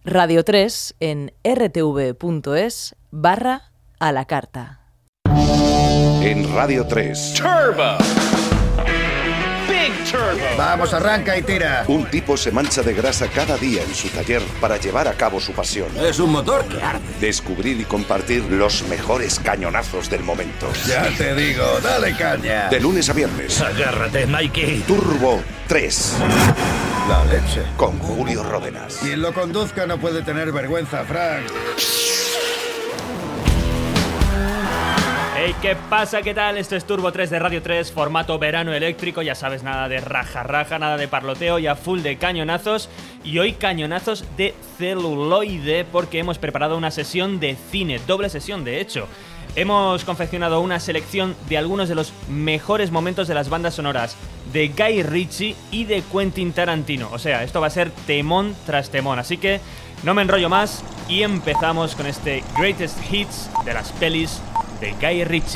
Radio 3 en rtv.es/a la carta. En Radio 3. Turbo. Big Turbo. Vamos, arranca y tira. Un tipo se mancha de grasa cada día en su taller para llevar a cabo su pasión. Es un motor que arde. Descubrir y compartir los mejores cañonazos del momento. Ya te digo, dale caña. De lunes a viernes. Agárrate, Mikey. Turbo 3. La leche. Con Julio Ródenas. Quien lo conduzca no puede tener vergüenza, Frank. Hey, ¿qué pasa? ¿Qué tal? Esto es Turbo 3 de Radio 3, formato verano eléctrico. Ya sabes, nada de raja, nada de parloteo, ya full de cañonazos. Y hoy cañonazos de celuloide, porque hemos preparado una sesión de cine, doble sesión de hecho. Hemos confeccionado una selección de algunos de los mejores momentos de las bandas sonoras de Guy Ritchie y de Quentin Tarantino. O sea, esto va a ser temón tras temón, así que no me enrollo más y empezamos con este Greatest Hits de las pelis de Guy Ritchie.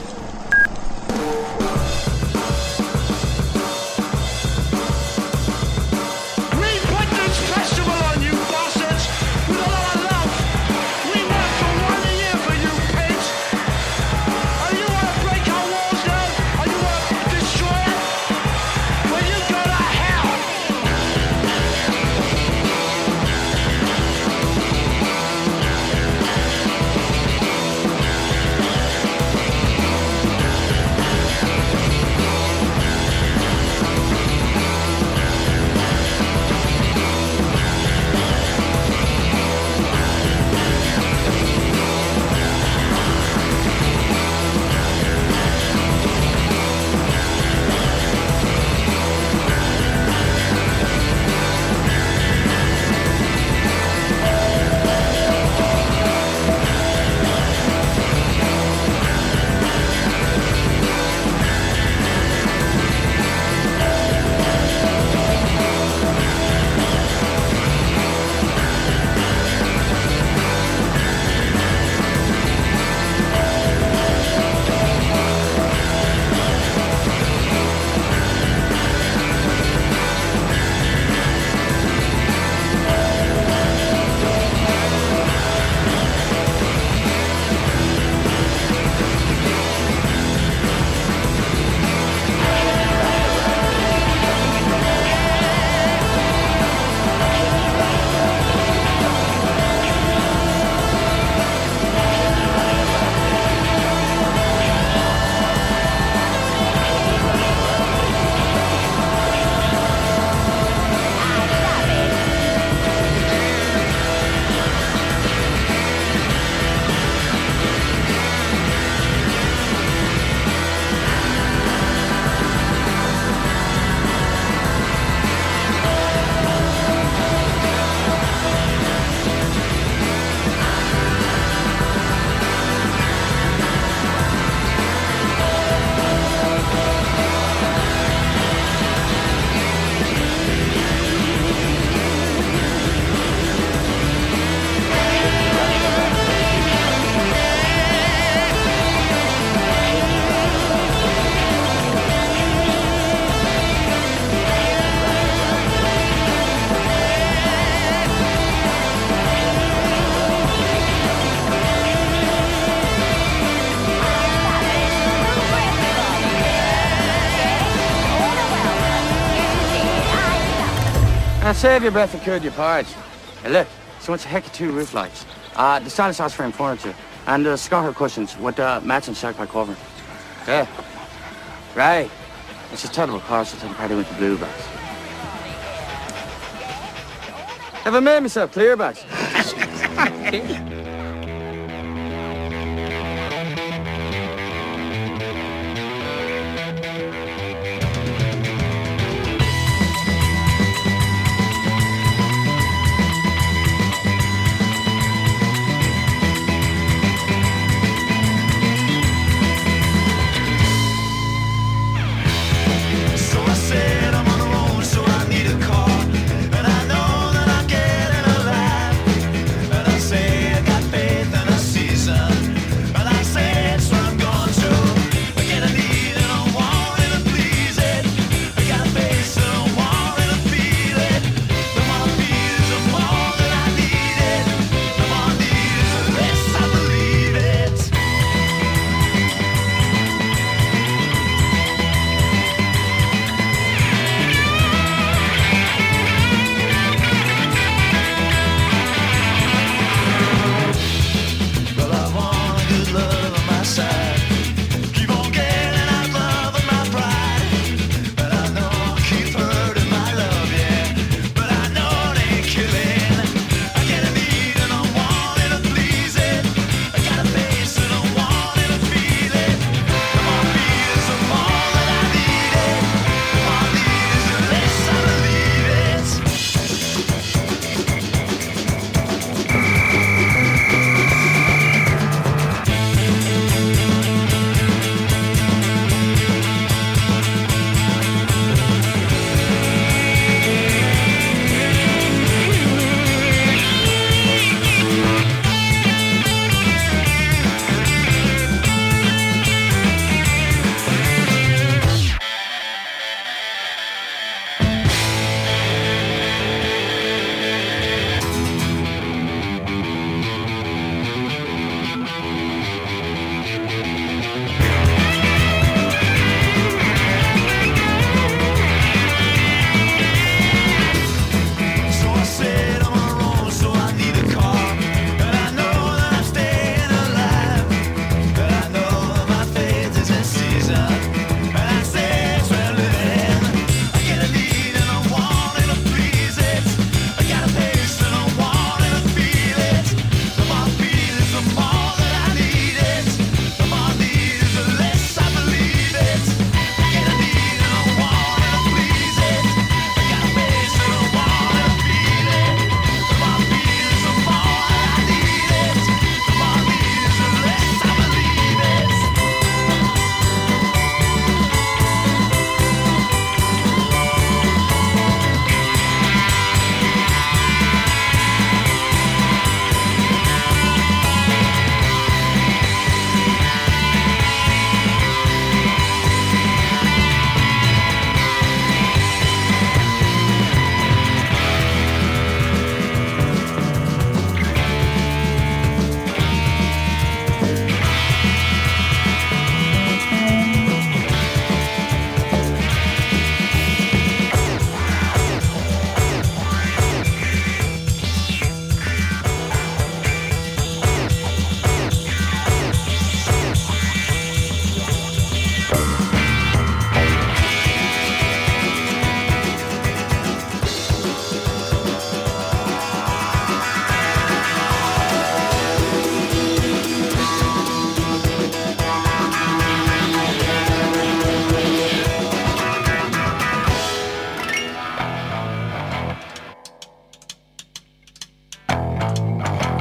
Now save your breath and cure your porridge. Hey, look, so much a heck of 2 roof lights. The stylish house frame furniture. And the Scotter cushions with matching shark pie cover. Yeah. Right. It's just terrible cars to take a party with the blueberries. Have I made myself clear, Bax? And I know that I'm getting alive. And I say I got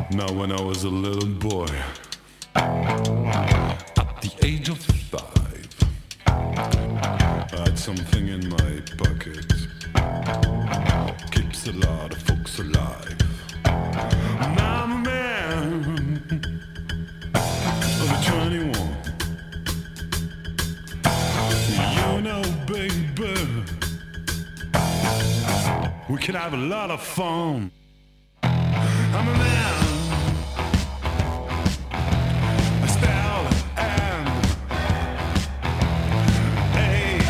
Now when I was a little boy, at the age of 5, I had something in my pocket, keeps a lot of folks alive. Now I'm a man of 21. You know, baby, we can have a lot of fun. I'm a man. I spell M A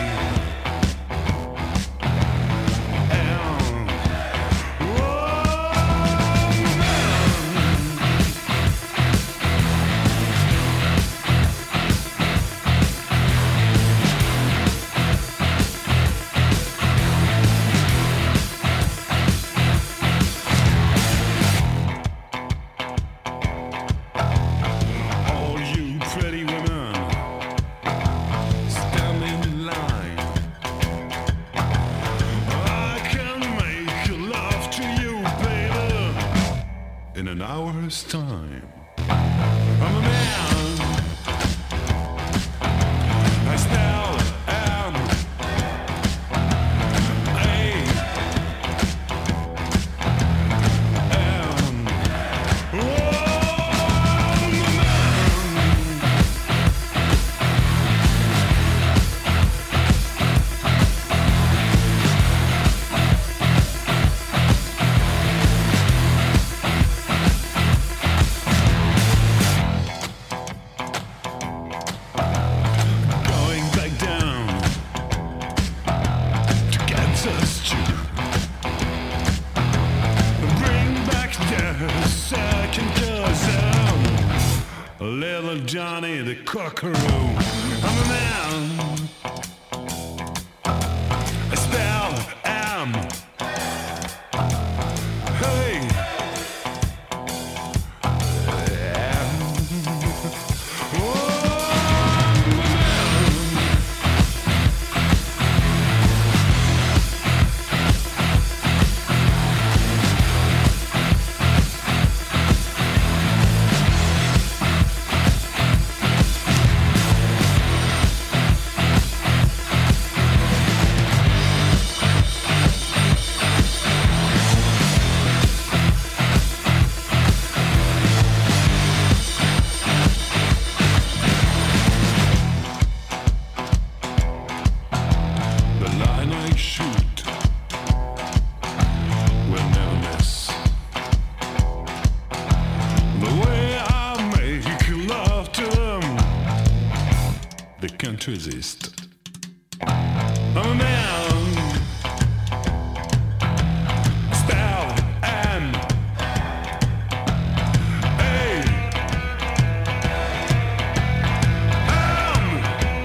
M. All you pretty women, stand in line. I can make love to you, baby, in an hour's time. I'm a man. I spell M A M. Going back down to Kansas Street. Bring back the second cousin, little Johnny the Cockaroo. I'm a man. I spell M. Hey. M. The line I shoot will never miss. The way I make love to them, they can't resist. I'm a man. Spell M A M.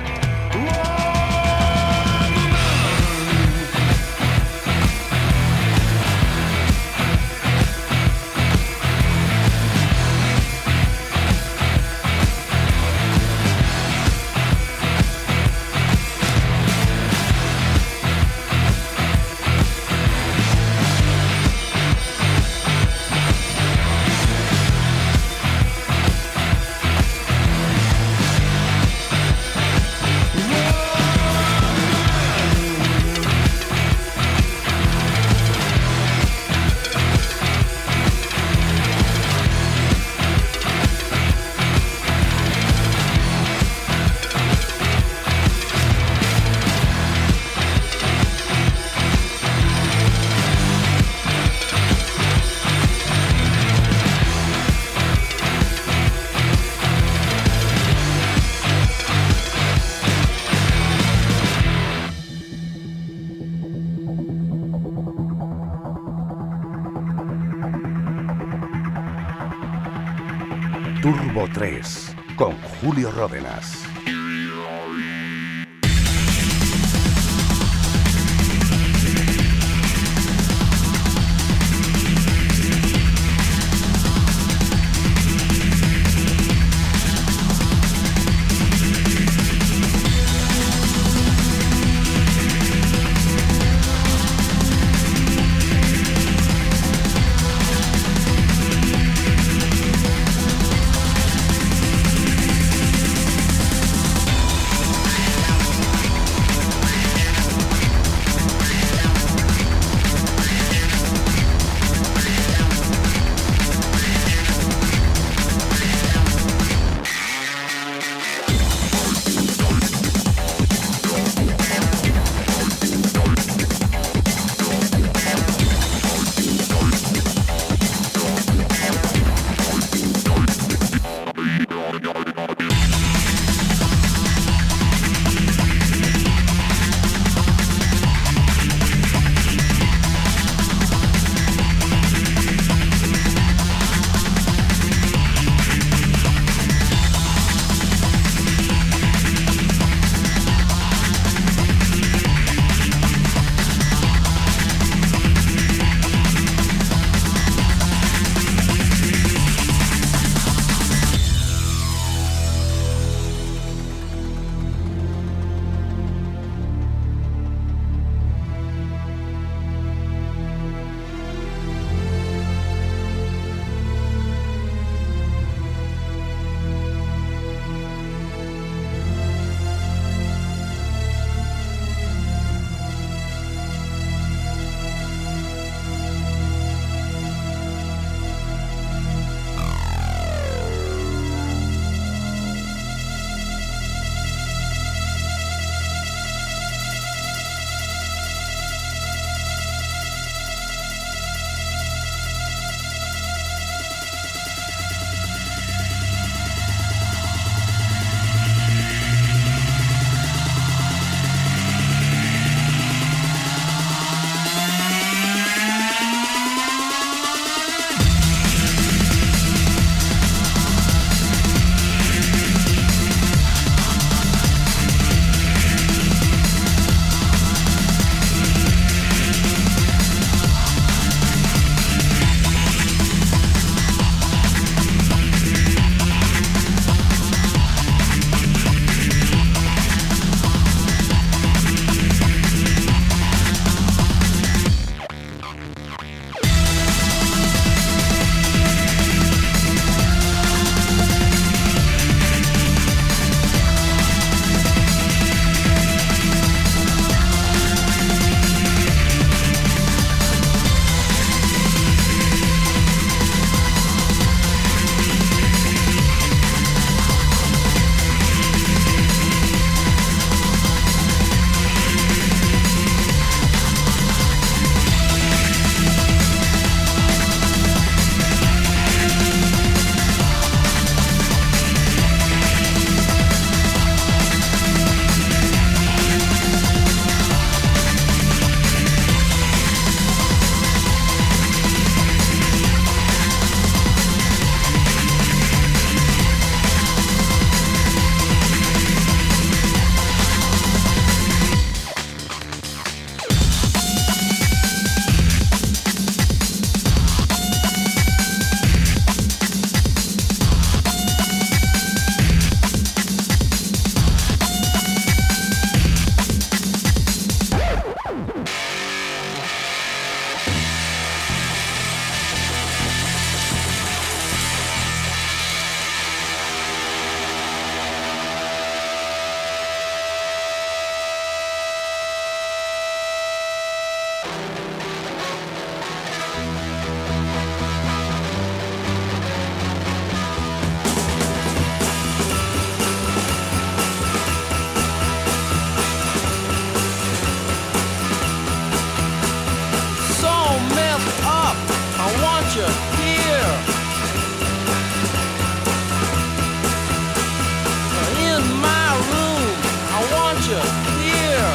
Turbo 3 con Julio Ródenas. you here. In my room, I want you here.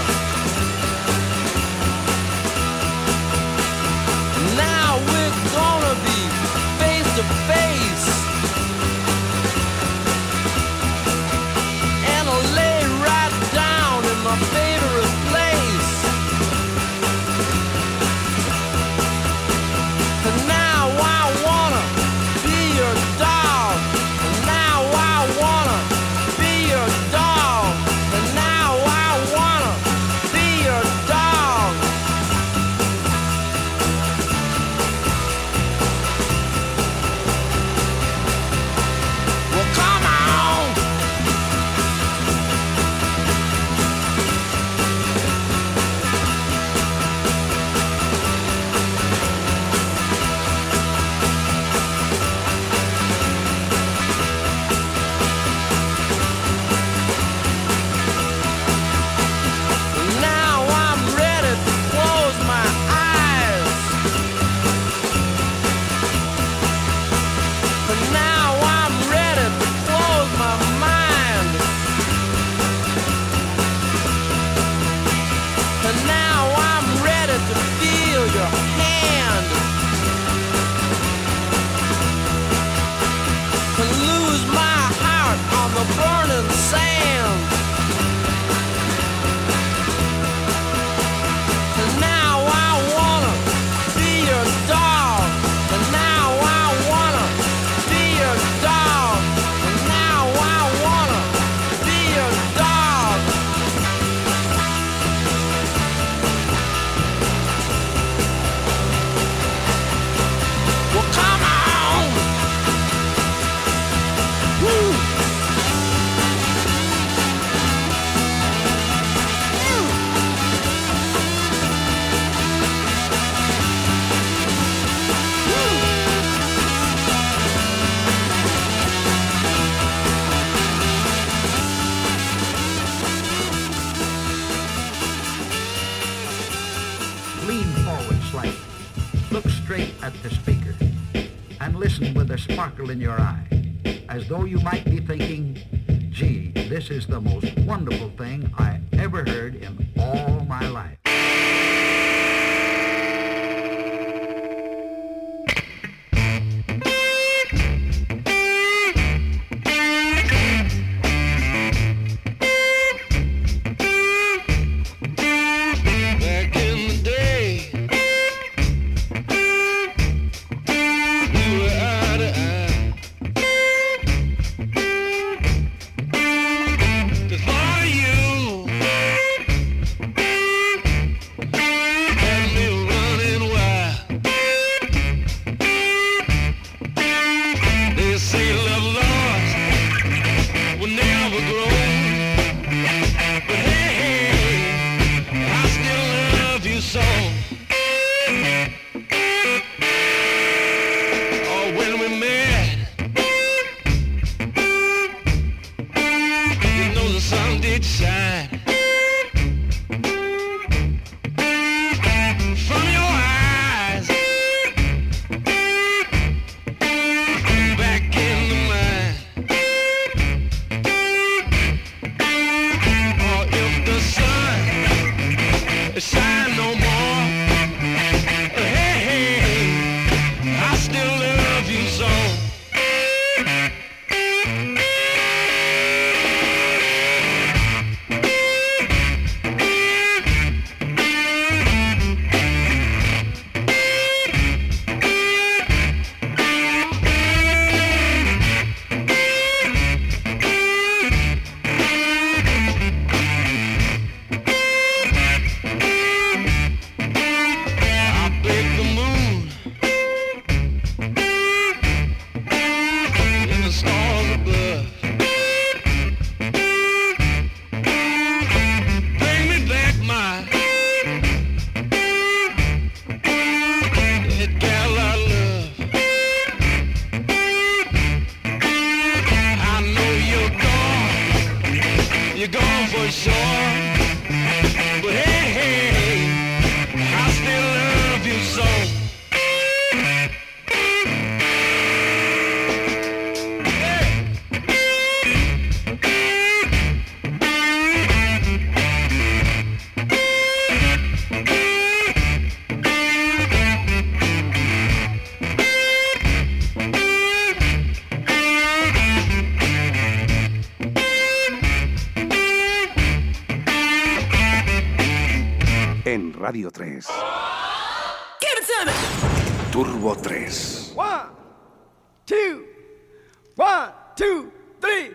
Now we're gonna be face to face. And I'll lay right down in my favorite place. And now I wanna be your dog. And now I wanna be your dog. And now I wanna be your dog. Well, come on. Now I'm ready to close my eyes. But now I'm ready to close my mind. And now I'm ready to feel your hand. And lose my heart on the burning sand. And now I wanna be your dog. And now I wanna be your dog. And now I wanna be your dog. Well, come on. Woo. Lean forward slightly. Look straight at the speaker. And listen with a sparkle in your eye. As though you might be thinking, gee, this is the most wonderful thing I ever heard in all my life. Back in the day, we were eye to eye. 'Cause for you, Radio 3. Turbo 3. 1, 2, 1, 2, 3,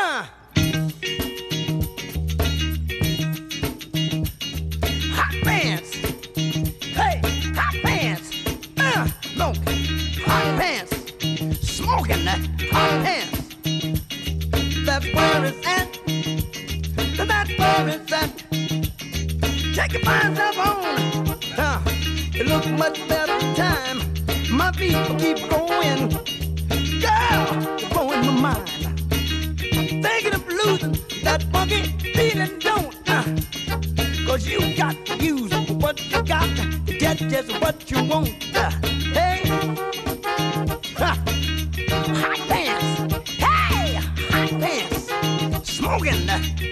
Hot pants. Hey, hot pants. No, hot pants. Smoking that hot pants. That's where it's at. That's where it's at. Take your mind up on. It looks much better time. My feet will keep going. Girl, you're blowing my mind. Thinking of losing that funky feeling, don't. Cause you got to use what you got to get just what you want. Hey, hot pants. Hey, hot pants. Smoking.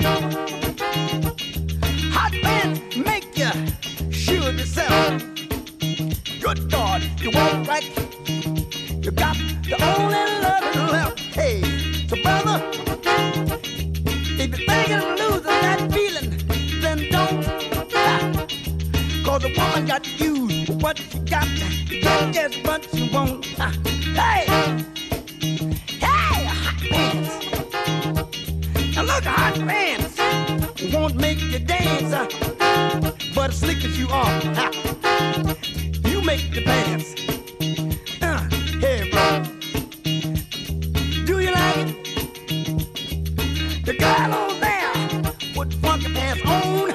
Hot pants make you sure of yourself. Good God, you walk right. You got the only loving left. Hey, so brother, if you're thinking of losing that feeling, then don't. Cause a woman got to use what you got to get just what you want. Hey, hey, hot pants. Now look, hot pants won't make you dance, but as slick as you are, you make the pants. Hey, bro, do you like it? The girl on there with funky pants on,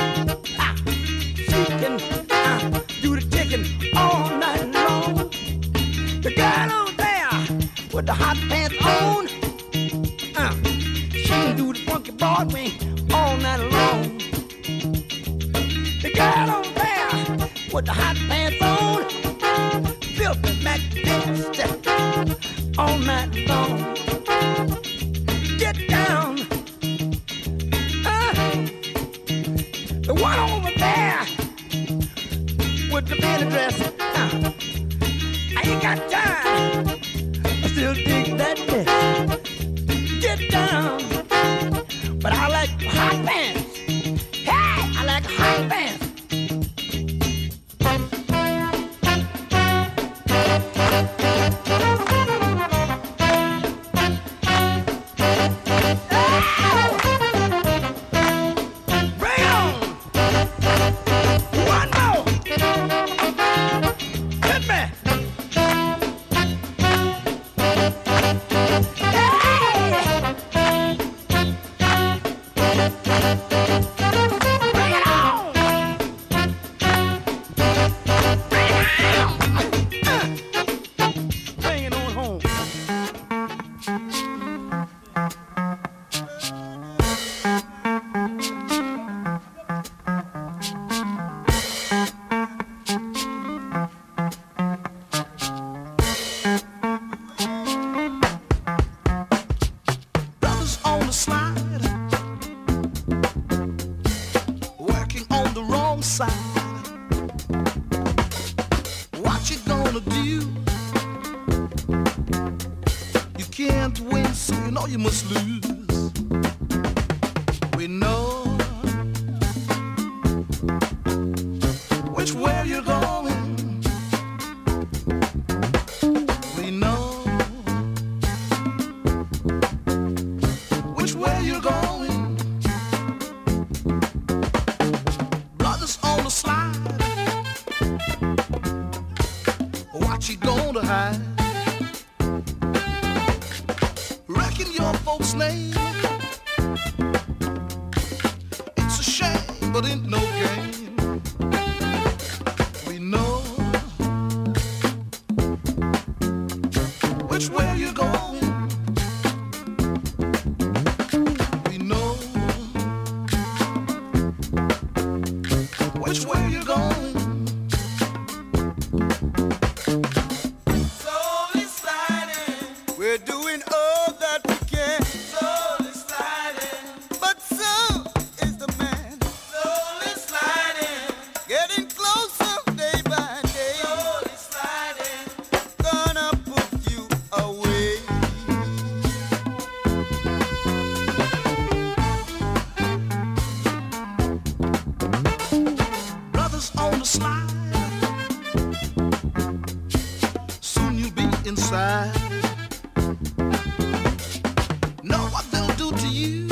she can do the chicken all night long. The girl on there with the hot pants on, she can do the funky Broadway all night long. The girl on there with the hot pants on, filthy magnificent all night long. Get down. The one over there with the mini dress, I ain't got time. I still dig that dress. Get down. But I like hot pants. Hey, I like hot pants. Away. side. Know what they'll do to you.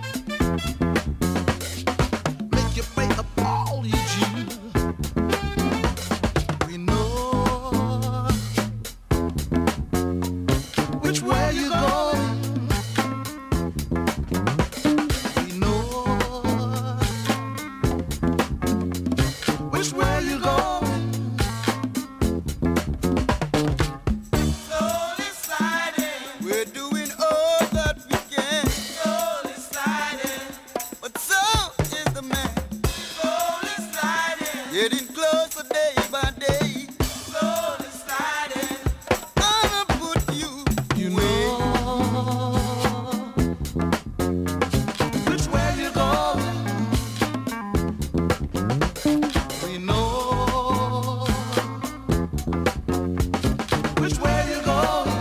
Make you pay up all you due. We know which way you going. We know which way you going. Slowly sliding, we're doing all that we can. Slowly sliding, but so is the man. Slowly sliding, getting closer day by day. Slowly sliding, gonna put you away. Which way you going? We know which way you going.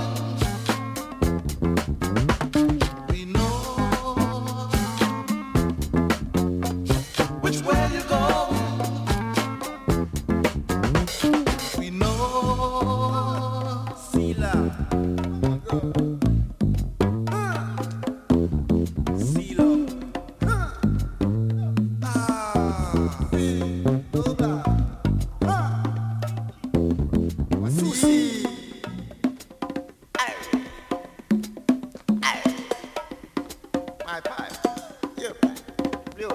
We know which way you going. We know. Sila. Silo. Susi. My pipe. Your pipe. Real.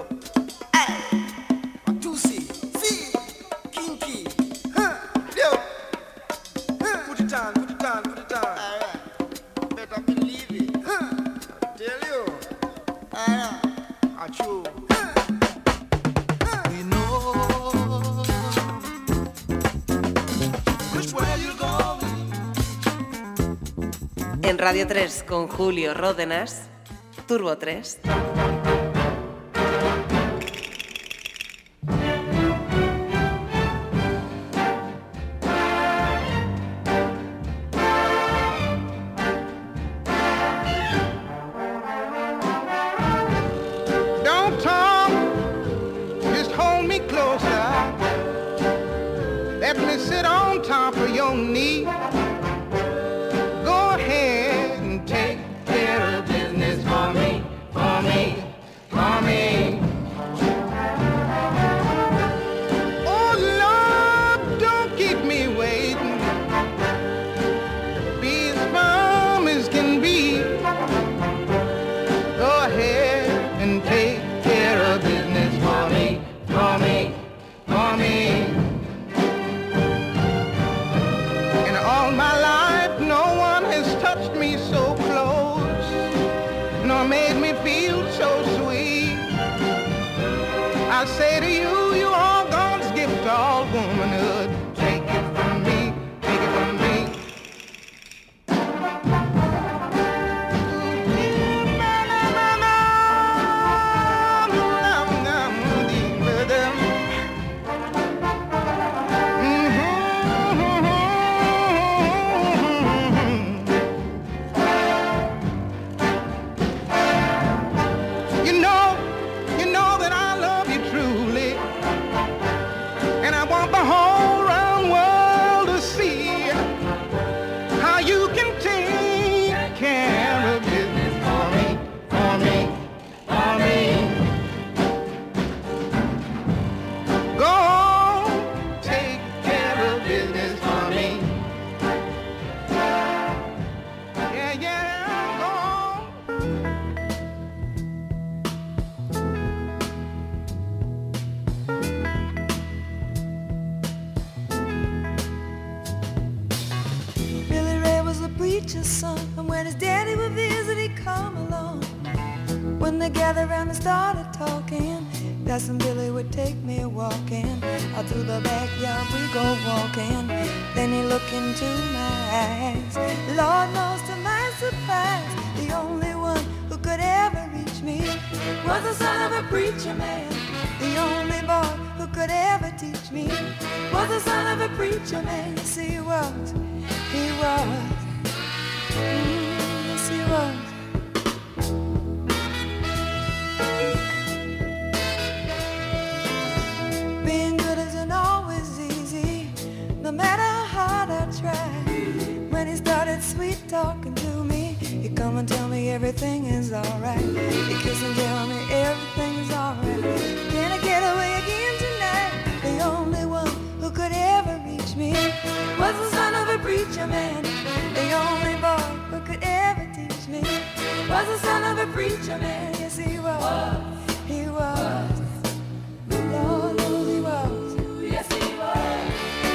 Matusi. See. Kinky. Real. Put it on, put it on, put it on. Alright. Better believe it. Tell you. Alright. Achoo. We know which way you going. En Radio 3 con Julio Ródenas, Turbo 3. Don't talk, just hold me closer. Let me sit on top of your knee. Go ahead and take care of business for me, for me, for me. Oh Lord, don't keep me waiting. Be as firm as can be. Go ahead and take care of business for me, for me, for me. In all my life, no one has touched me so close, nor made me feel so sweet. I say to you, you are God's gift to all womanhood. Take it from me, take it from me. You know that I love you truly, and I want the whole round world to see how you can take care of business for me, for me, for me. Go on, take care of business for me. Yeah, yeah, go on. Billy Ray was a preacher's son, and when his daddy would visit, he'd come along. When they gathered around and started talking, Cousin Billy would take me walking. Out through the backyard we go walking. Then he looked into my eyes. Lord knows to my surprise, the only one who could ever reach me was the son of a preacher man. The only boy who could ever teach me was the son of a preacher man. Yes, he was. He was. Yes, he was. Being good isn't always easy, no matter how hard I try. When he started sweet sweet talking to me. You come and tell me everything is alright. You kiss and tell me everything is alright. Can I get away again tonight? The only one who could ever reach me was the son of a preacher man. The only boy who could ever teach me was the son of a preacher man. Yes, he was. He was. The Lord knows he was. Yes, he was.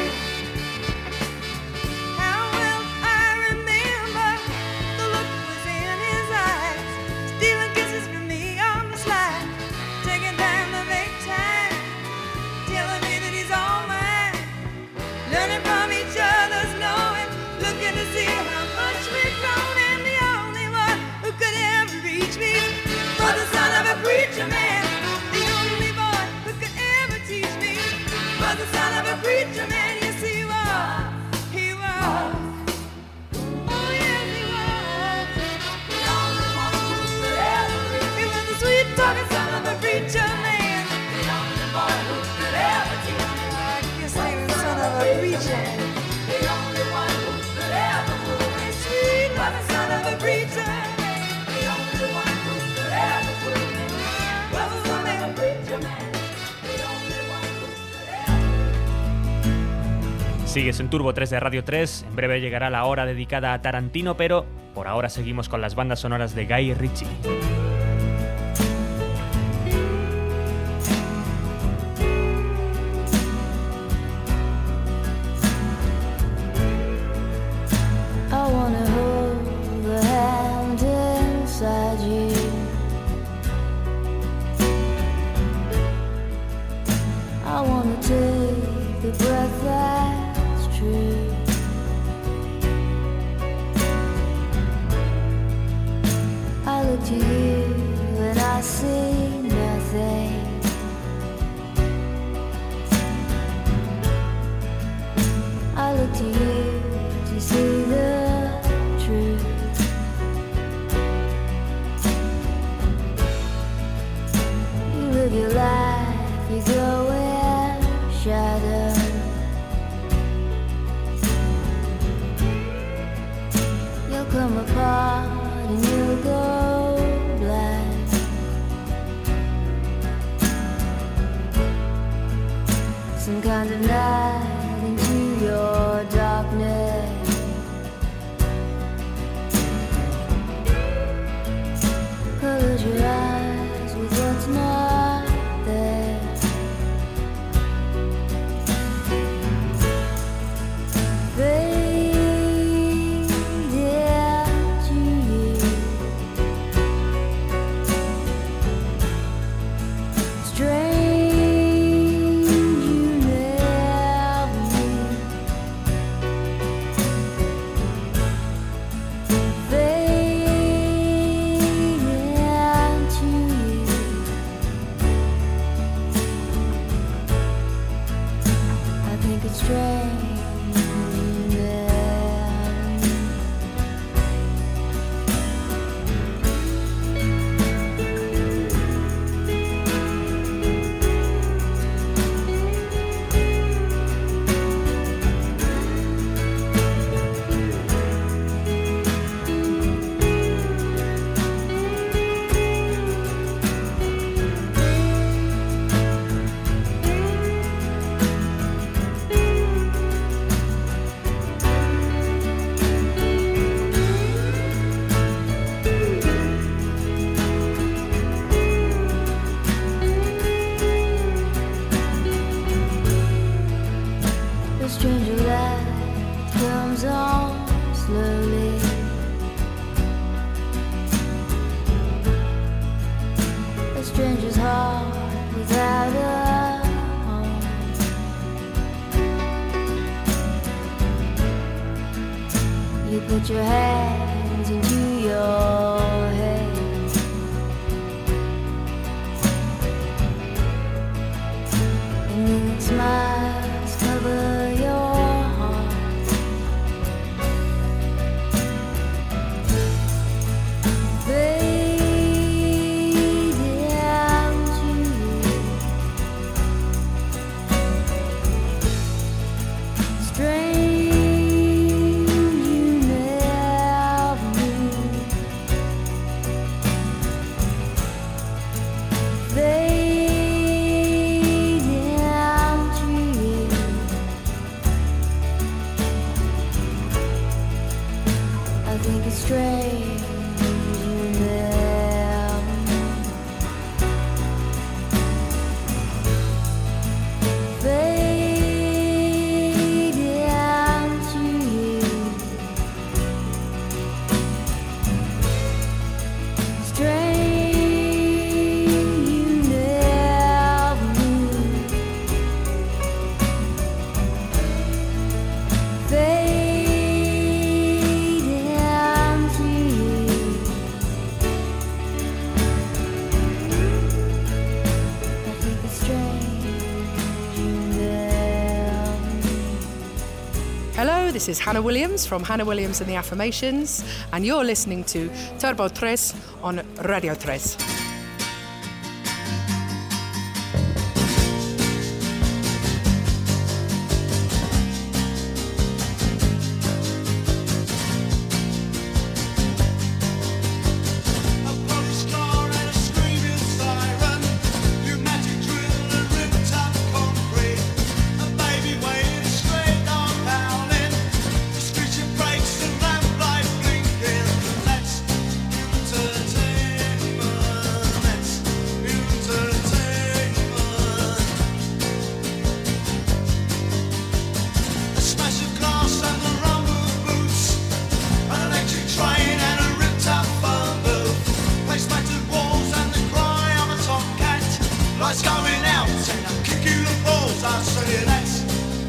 How well I remember the look was in his eyes, stealing kisses from me on the slide, taking time to make time, telling me that he's all mine, learning from each other's knowing, looking to see how much we've grown, and the only one who could ever reach me was the son of a preacher man. The only boy who could ever teach me was the son of a preacher man. Yes, he was. He was. Oh, yes, he was. The only one who could ever reach me. He was the sweet talking son of a preacher man. The only boy who could ever teach me. I guess he was the son of a preacher. The only one who could ever move me. Sweet talking son of a preacher man. The only one who could ever move me was the son of a preacher man. Sigues en Turbo 3 de Radio 3, en breve llegará la hora dedicada a Tarantino, pero por ahora seguimos con las bandas sonoras de Guy Ritchie. I wanna hold the hand inside you. I wanna take the breath that's true. I look to you and I see nothing. I look to you to see the truth. You live your life, you go in shadow. You'll come apart and you'll go blind. Some kind of night into your darkness. Close your eyes with what's not there. Fade into you. Strange you never knew. stranger's heart without a home. You put your hands into your head, and then smiles cover your heart. Strange you never think it's strange you never fade down to you. Strange you never knew. Fade down to you. I think it's strange you never knew. Hello, this is Hannah Williams from Hannah Williams and the Affirmations, and you're listening to Turbo 3 on Radio 3. Lights going out and I'll kick you the balls. I say that's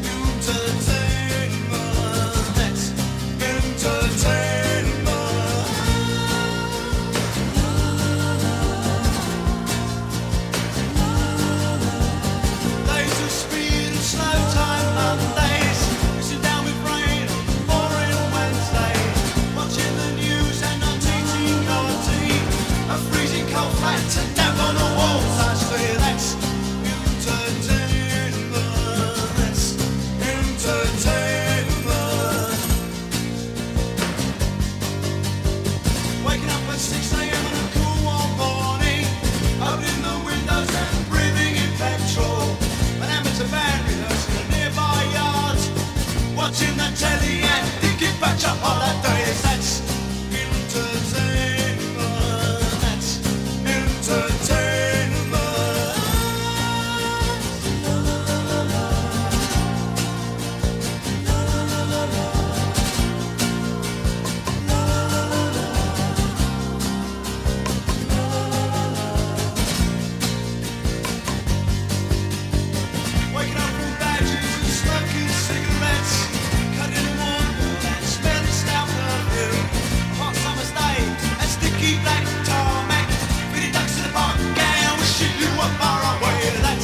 entertainment. That's entertainment. Days of speed and slow time Mondays, sitting down with rain on boring Wednesdays, watching the news and not teaching your tea. A freezing cold flat and down on the walls. I say that's entertainment. That's entertainment. Waking up at 6 a.m. on a cool warm morning, opening the windows and breathing in petrol. An amateur band rehearsing in a nearby yard, watching the telly and thinking back to holidays. That's entertainment. That's entertainment. Waking up from badges and smoking cigarettes, cutting a water and smelling stout perfume. Hot summer's day and sticky black tarmac, feeding ducks in the park, gang wishing you were far away. That's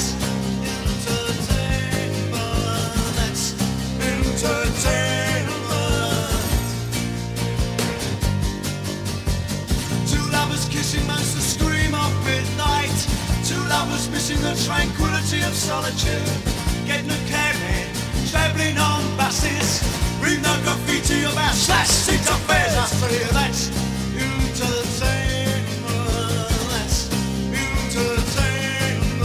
entertainment. That's entertainment. Two lovers kissing makes the scream of midnight. Two lovers missing the tranquility of solitude. Getting a cab in, travelling on buses, read no graffiti about slash seat affairs. I say that's entertainment. That's entertainment.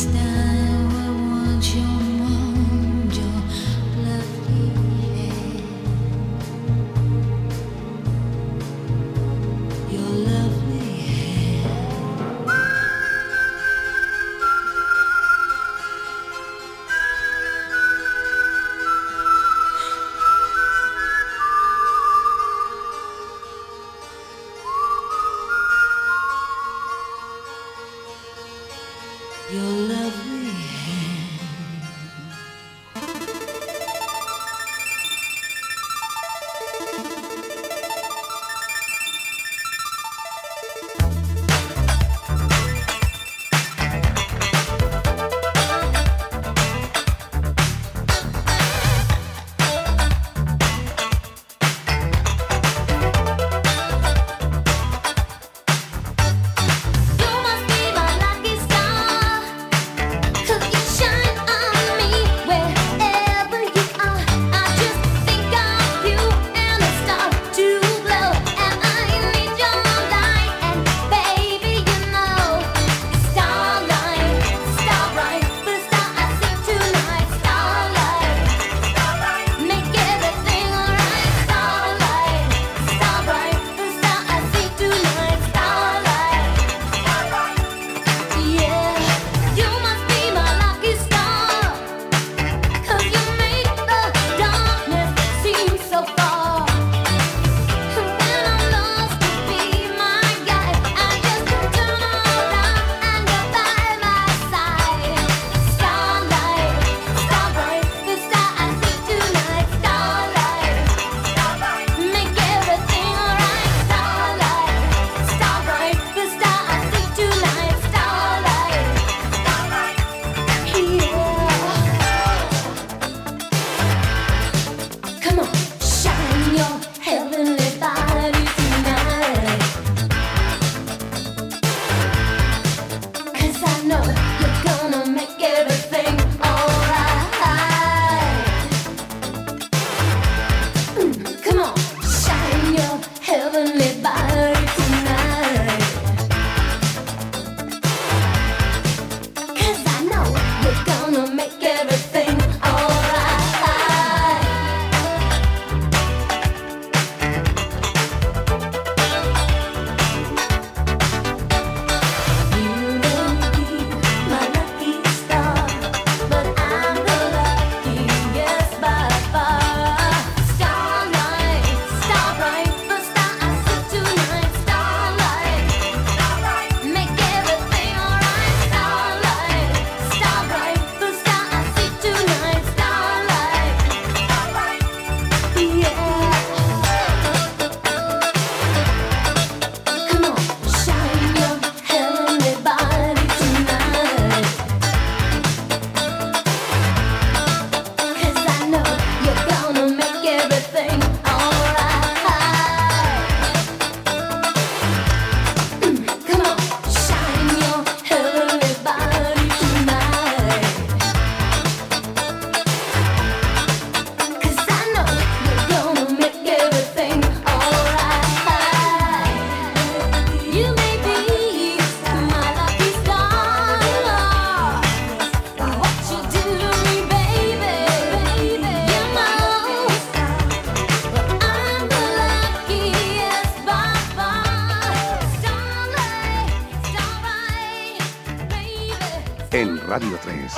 En Radio 3.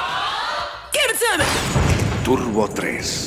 Turbo 3.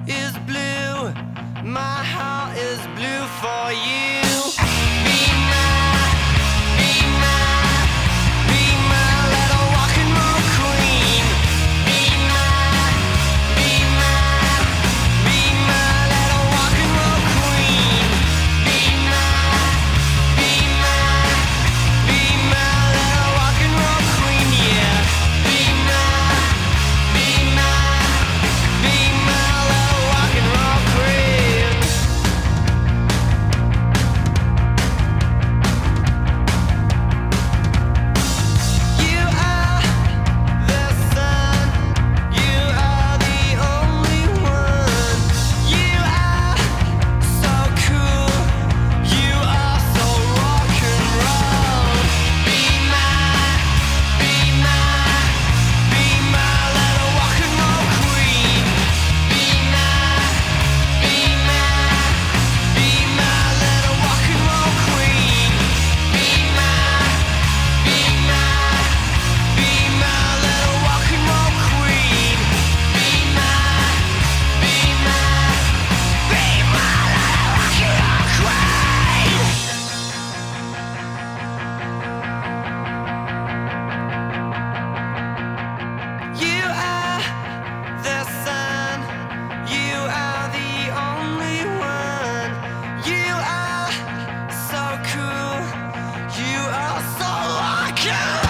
is blue. My heart is blue for you. Be my little rock and roll queen. Be my little rock and roll queen. Be my little rock and roll queen, yeah. Be my little rock and roll queen. You are the sun, you are the only one. You are so cool, you are so rock and roll. Be my little rock and roll queen. Be my little rock and roll queen. Be my little rock and roll queen. Be my little rock and roll queen. You are the sun, you are the only one. You are so cool, you are so rock and roll.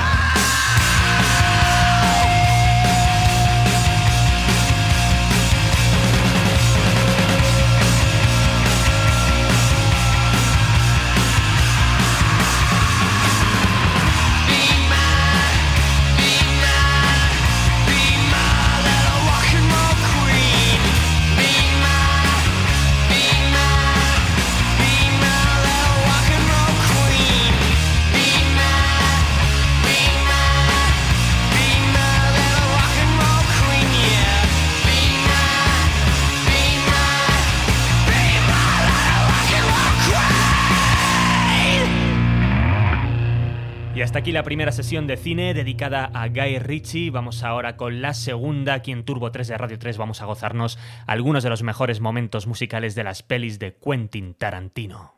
Be my little rock and roll queen. Be my little rock and roll queen. Be my little rock and roll queen, yeah. Be my little rock and roll queen. Y hasta aquí la primera sesión de cine dedicada a Guy Ritchie. Vamos ahora con la segunda. Aquí en Turbo 3 de Radio 3 vamos a gozarnos algunos de los mejores momentos musicales de las pelis de Quentin Tarantino.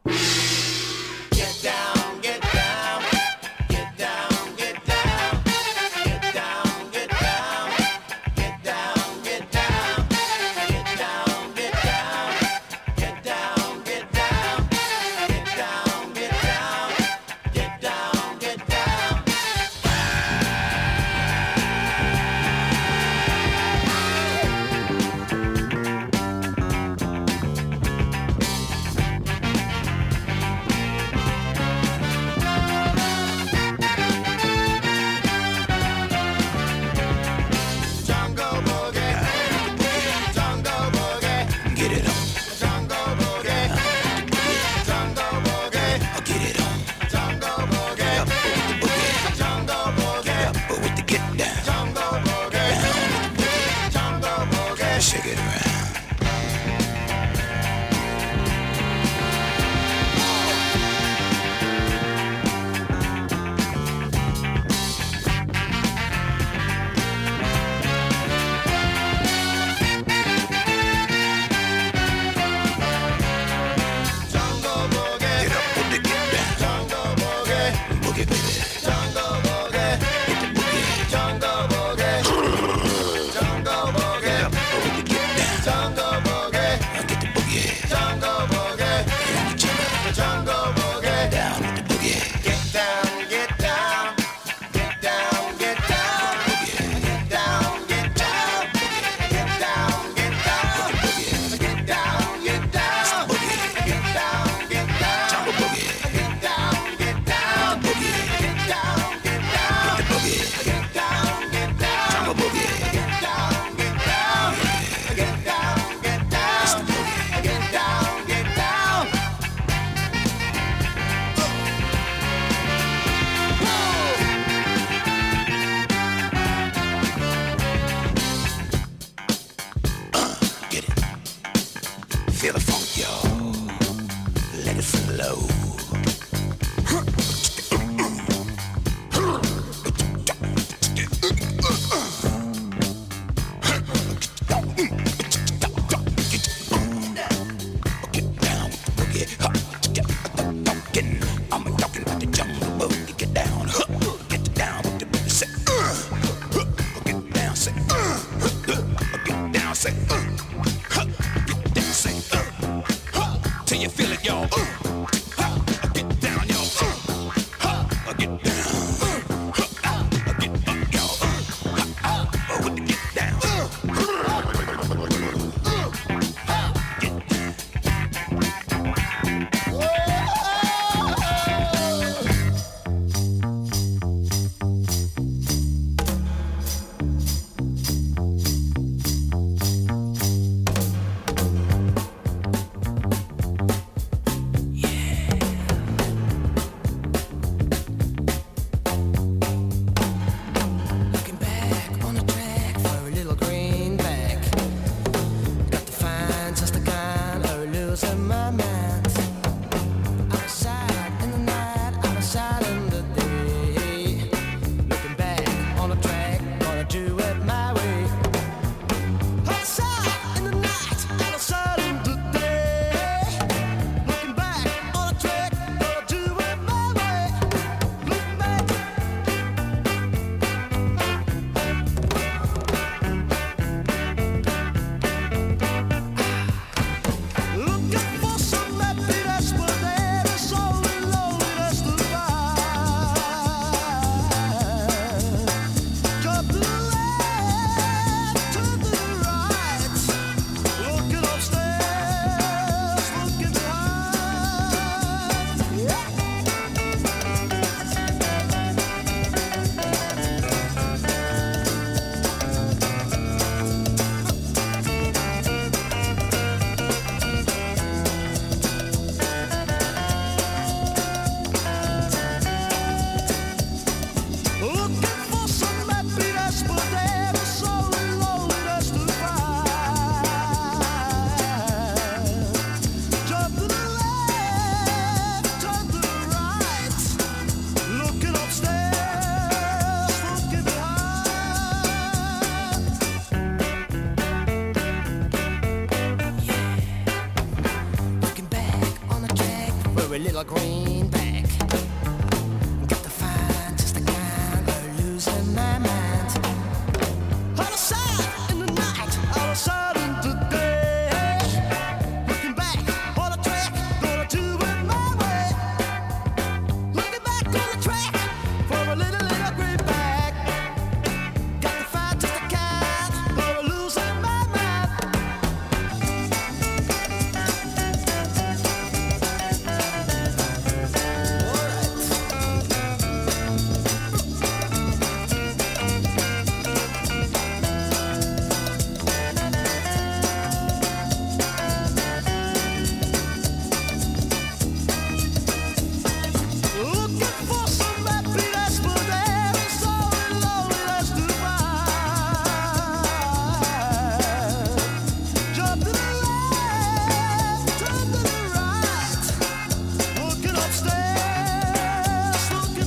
a little greenback. Got to find just the kind of losing my mind. Out of sight in the night, out of sight in the day. Looking back on the track, gonna do it my way. Looking back on the track for a little greenback. Got to find just the kind of losing my mind. Looking for some happiness, but there is so loneliness to find. Jump to the left, turn to the right. Looking upstairs, looking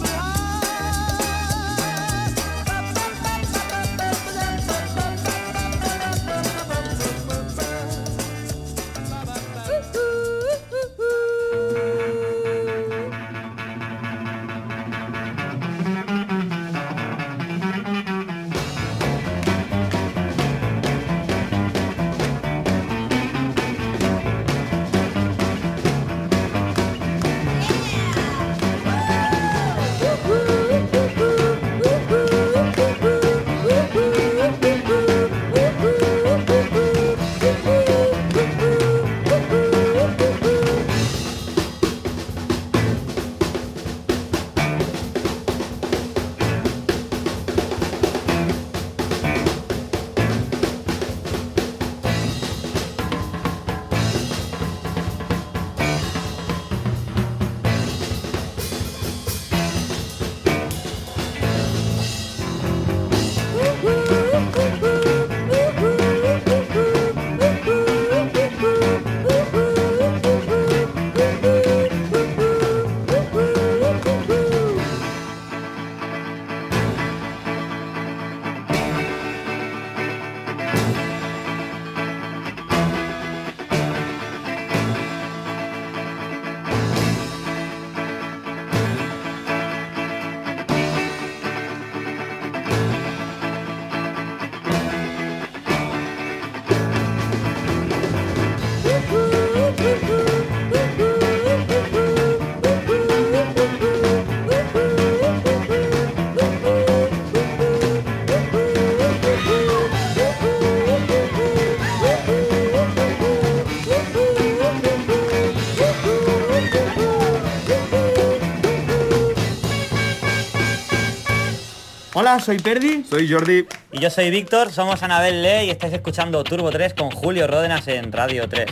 Hola, soy Perdi. Soy Jordi. Y yo soy Víctor, somos Anabel Lee y estáis escuchando Turbo 3 con Julio Ródenas en Radio 3.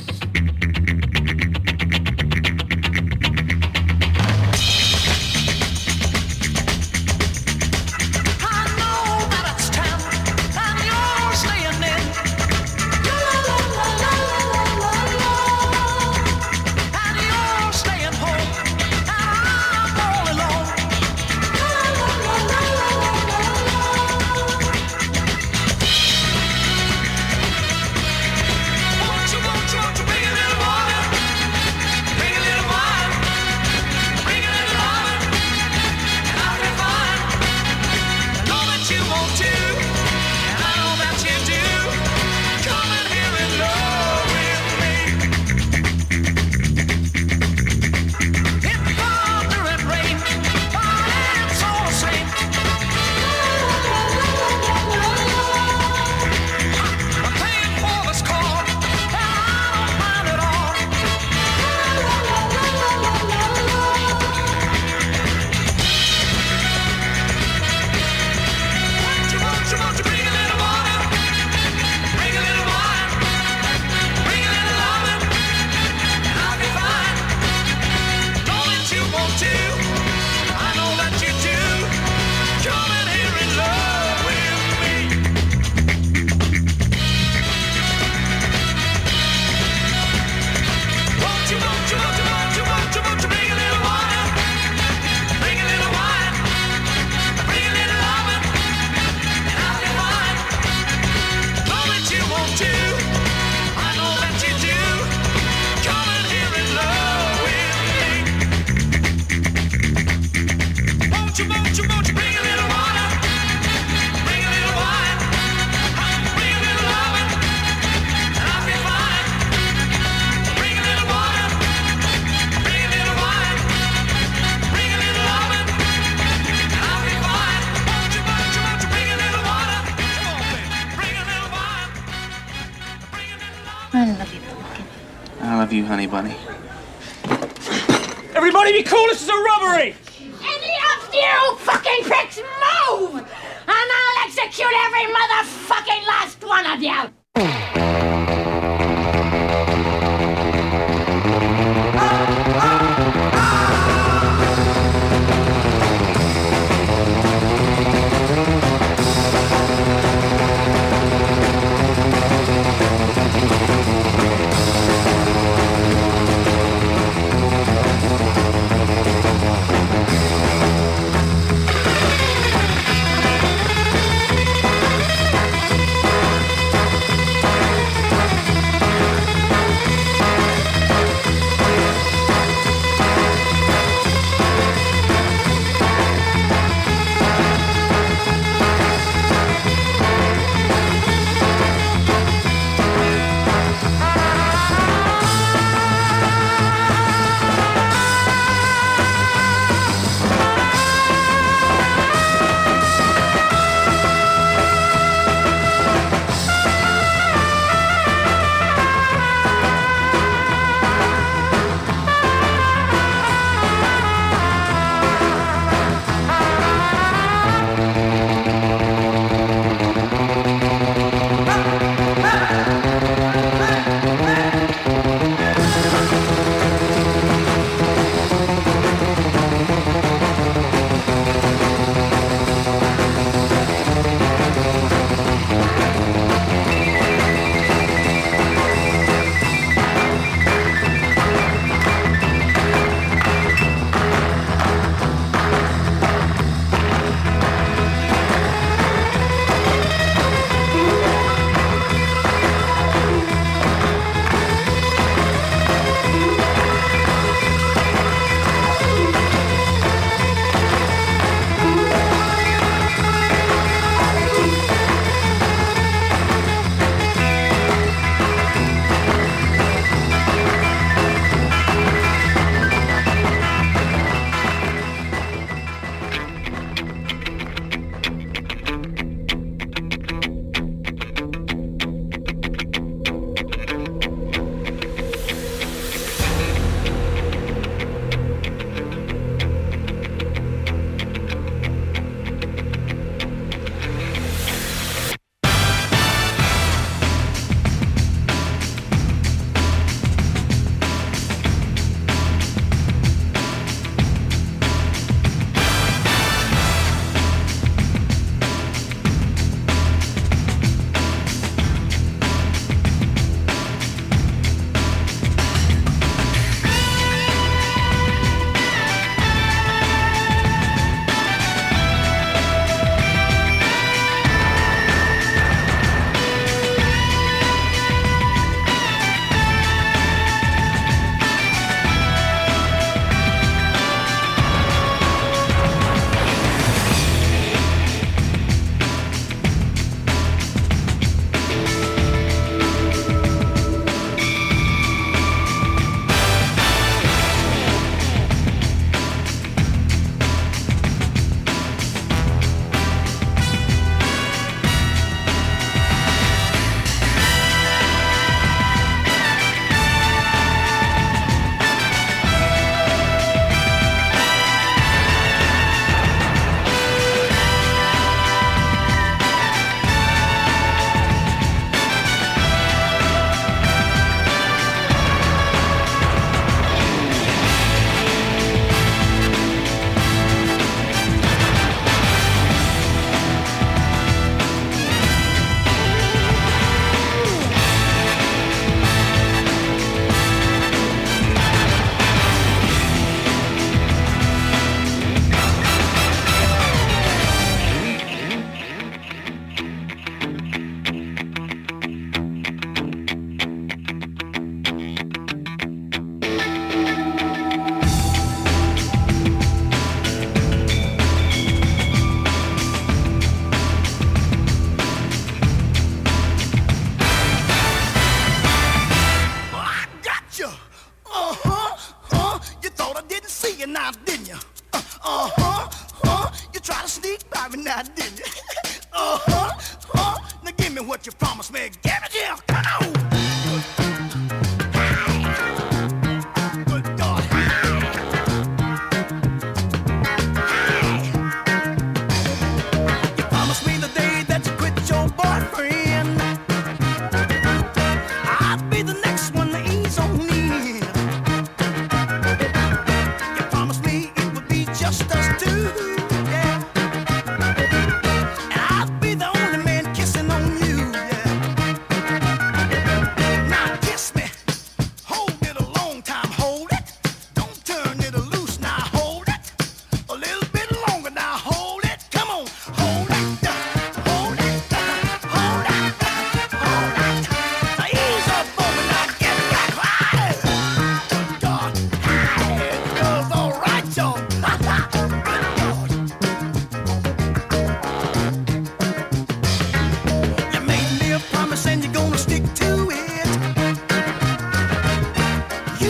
Won't you, baby? I love you, pumpkin. I love you, honey bunny. Everybody be cool, this is a robbery! Any of you fucking pricks move! And I'll execute every motherfucking last one of you!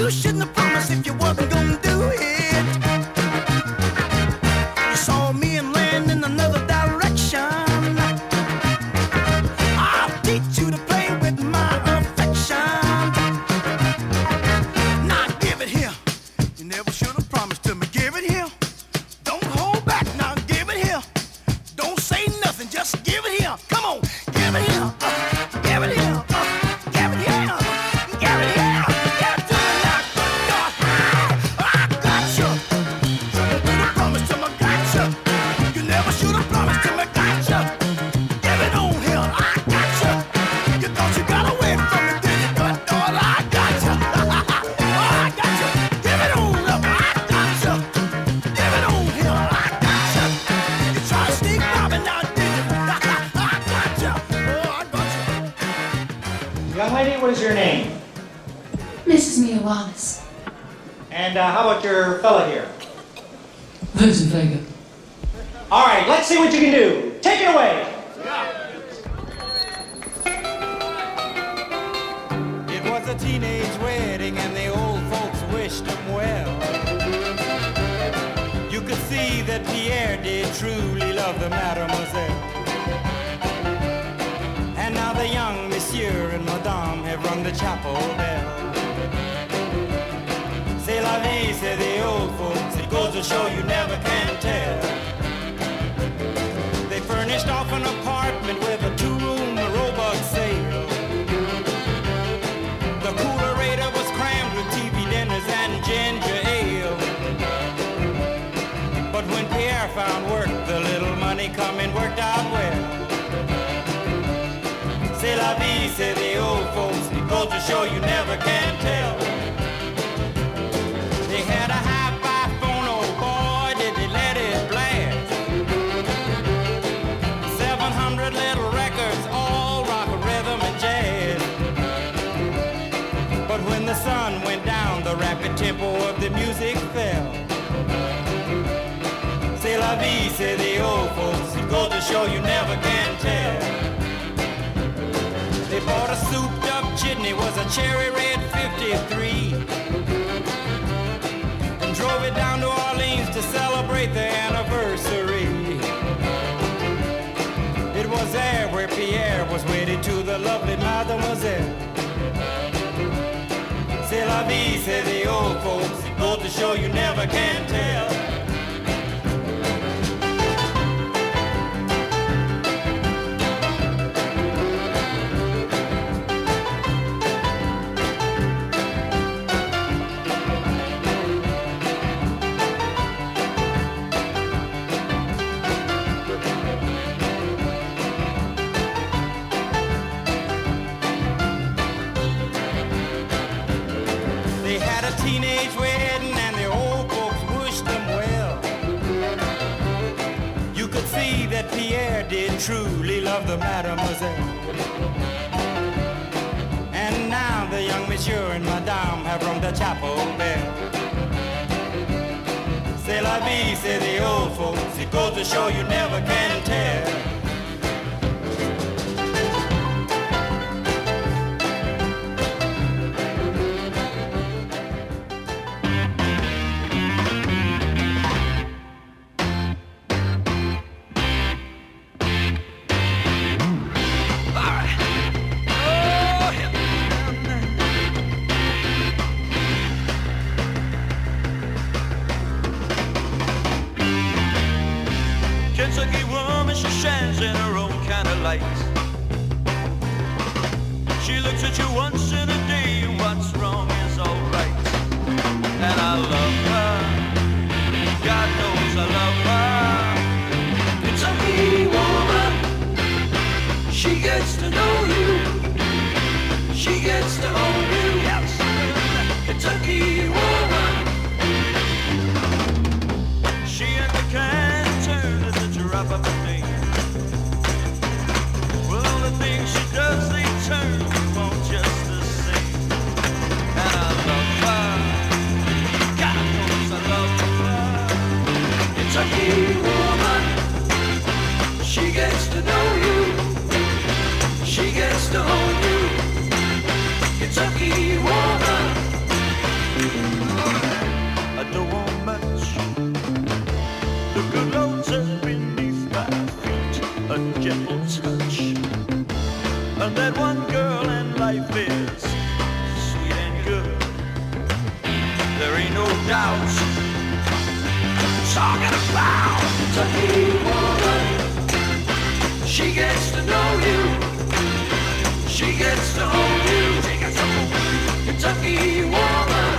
You shouldn't have promised if you wasn't gonna do it. You saw me and land in another direction. I'll teach you to play with my affection. Now give it here. You never should have promised to me. Give it here. Don't hold back. Now give it here. Don't say nothing. Just give it here. Come on. Give it here. Give it here. Give it here. Give it here. Give it to me now. God, I got you. Should have promised to me. Got you. You never should have promised to me. Got you. Give it on here. I got you. You thought you got away from me, did you? But all I got you. I got you. Give it on up. I got you. Give it on here. I got you. You try to sneak by me now, did you? I got you. Oh, I got you. Young lady, what is your name? Mrs. Mia Wallace. And how about your fella here? Vincent Vega. All right, let's see what you can do. Take it away. It was a teenage wedding and the old folks wished them well. You could see that Pierre did truly love the mademoiselle. And now the young monsieur and madame have rung the chapel bell. C'est la vie, say the old folks. It goes to show you never can tell. They furnished off an apartment with a two-room robot sale. The coolerator was crammed with TV dinners and ginger ale. But when Pierre found work, the little money coming worked out well. C'est la vie, say the old folks. It goes to show you never can tell. They had a hi-fi phone, oh boy, did they let it blast. 700 little records, all rock, rhythm, and jazz. But when the sun went down, the rapid tempo of the music fell. C'est la vie, say the old folks. It goes to show you never can tell. They bought a souped-up chitney, was a cherry red 53. Drove it down to Orleans to celebrate the anniversary. It was there where Pierre was wedded to the lovely mademoiselle. C'est la vie, say the old folks. It goes to show you never can tell. Teenage wedding and the old folks wished them well. You could see that Pierre did truly love the mademoiselle. And now the young monsieur and madame have rung the chapel bell. C'est la vie, say the old folks. It goes to show you never can tell. Kentucky woman, she shines in her own kind of light. She looks at you once in a day, and what's wrong is alright. And I love her, God knows I love her. Kentucky woman, she gets to know you, she gets to own you. Yes, Kentucky woman, she ain't the kind of turn that you drop up a name. Well, the things she does, they turn you on just the same. And I love her, God knows I love her. Kentucky woman, she gets to know you, she gets to own you. Kentucky woman, doubts. Talking about Kentucky woman. She gets to know you. She gets to own you. Kentucky woman.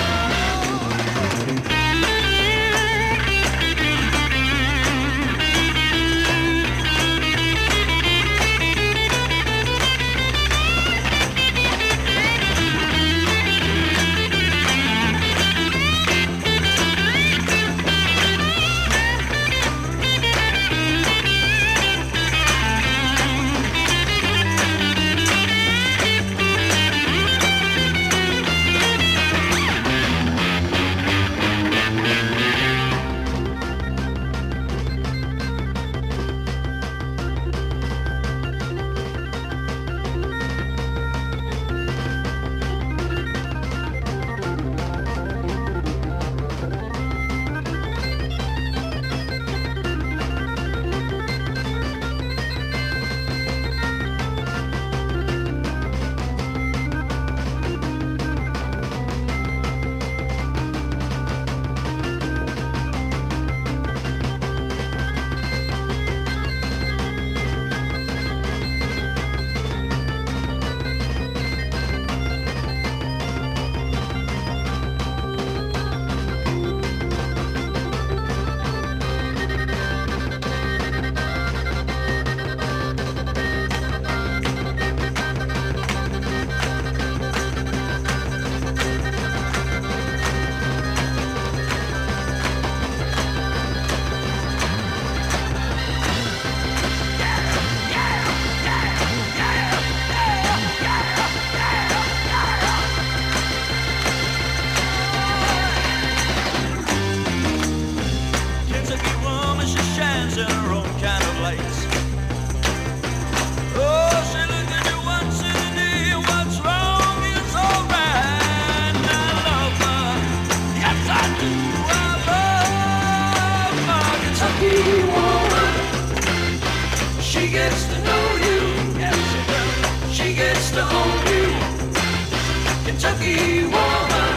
Kentucky woman,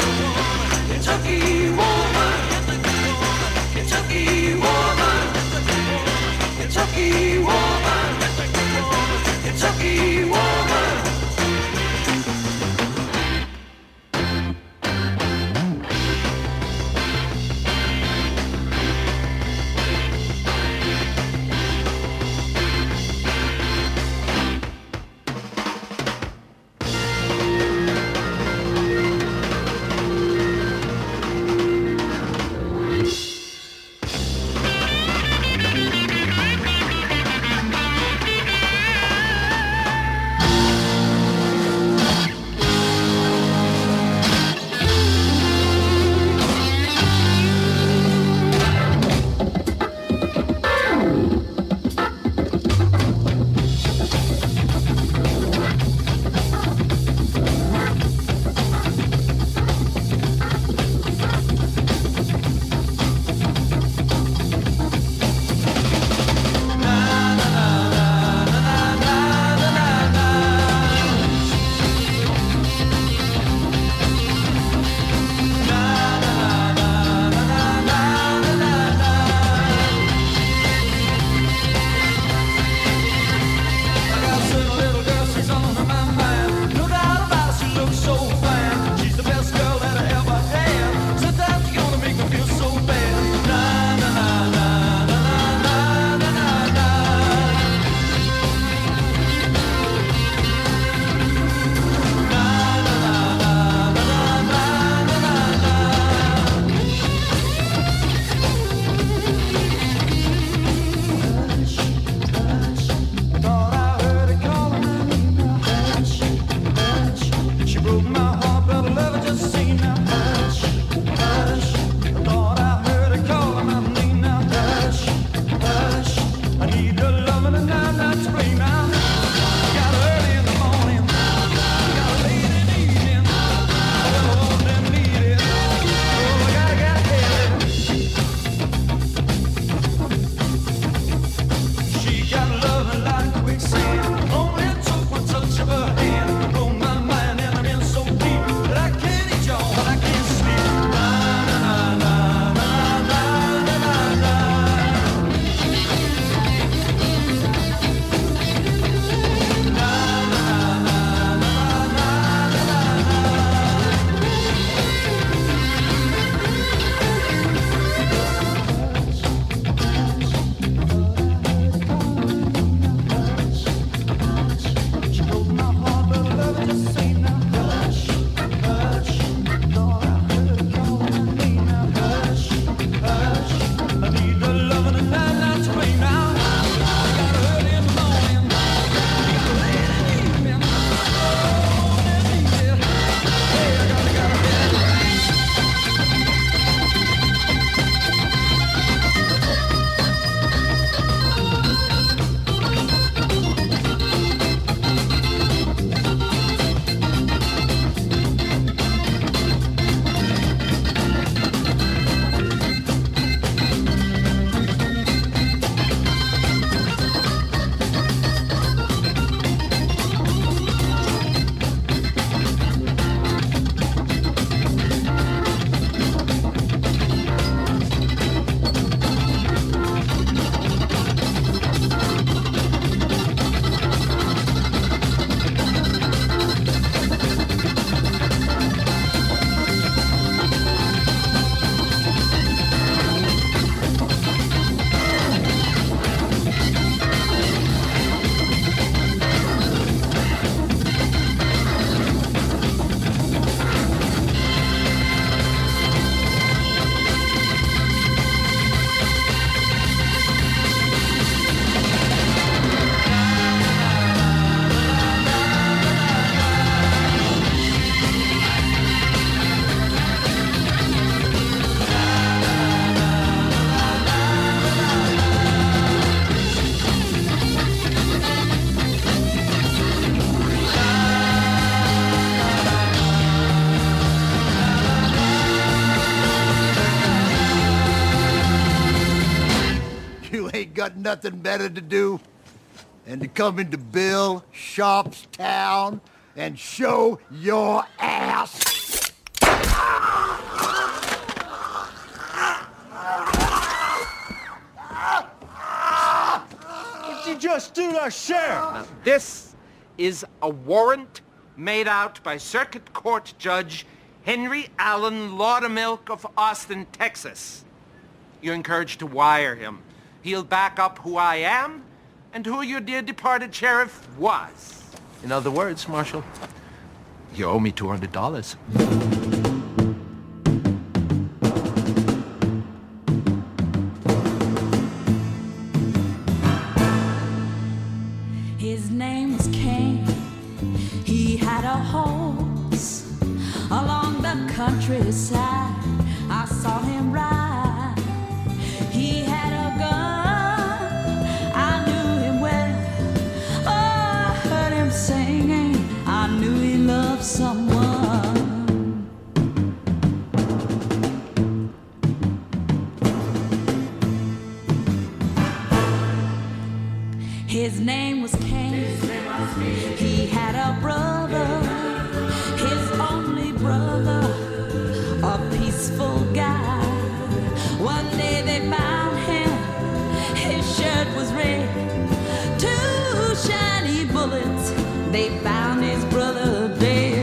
Kentucky woman, Kentucky woman, Kentucky woman, Kentucky woman. got nothing better to do than to come into Bill Sharp's town and show your ass. What'd you just do to Sheriff? Now, this is a warrant made out by Circuit Court Judge Henry Allen Laudermilk of Austin, Texas. You're encouraged to wire him. He'll back up who I am and who your dear departed sheriff was. In other words, Marshal, you owe me $200. His name was Cain. He had a horse along the countryside. I saw him ride. He had a gun. I knew him well. Oh, I heard him singing. I knew he loved someone. His name was Cain. He had a brother, his only brother, a peaceful guy. One day they found him, his shirt was red. 2 shiny bullets, they found his brother dead.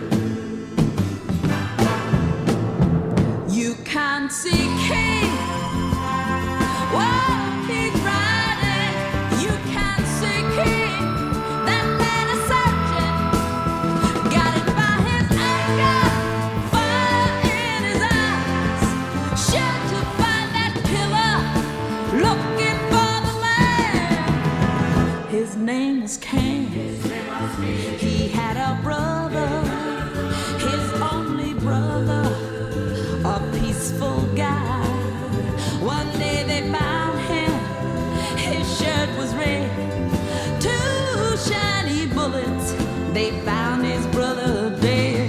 You can't see Cain. Whoa, he's riding. You can't see King. That man is searching. Got it by his anger. Fire in his eyes. Sure to find that killer. Looking for the man. His name was Cain. He had a brother. His only brother. A peaceful guy. One day they found him. His shirt was red. 2 shiny bullets. They found his brother dead.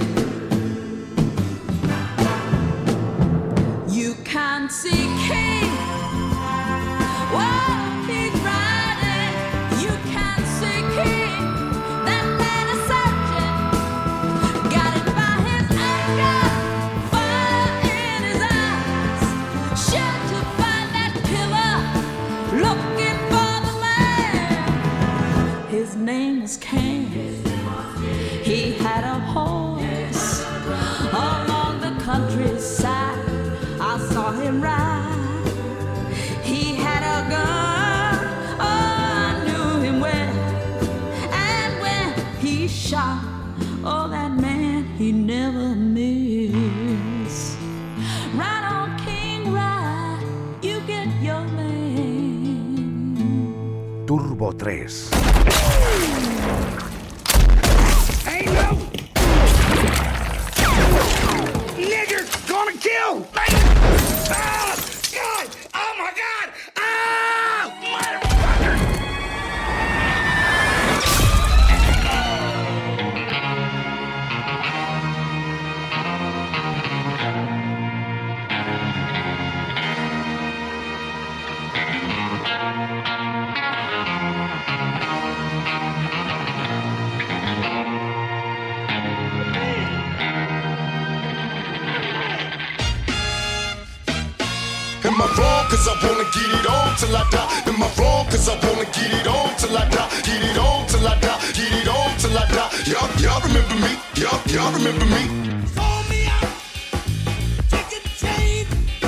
You can't see King. Whoa, he's riding. You can't see King. That man is searching. Got it by his anger. Fire in his eyes. Sure to find that killer. Looking for the man. His name was Cain. He had a horse along the countryside. I saw him ride. He had a gun. Oh, I knew him well. And when he shot, oh, that man he never missed. Right on King Ride, you get your man. Turbo 3. Hey, no! Nigger gonna kill! Ah, God! Oh my God! Ah! Motherfucker! Am I wrong? Cause I wanna get it on till I die. Am I wrong? Cause I wanna get it on till I die. Get it on till I die. Get it on till I die. Y'all remember me? Y'all remember me? Told me I took a chain.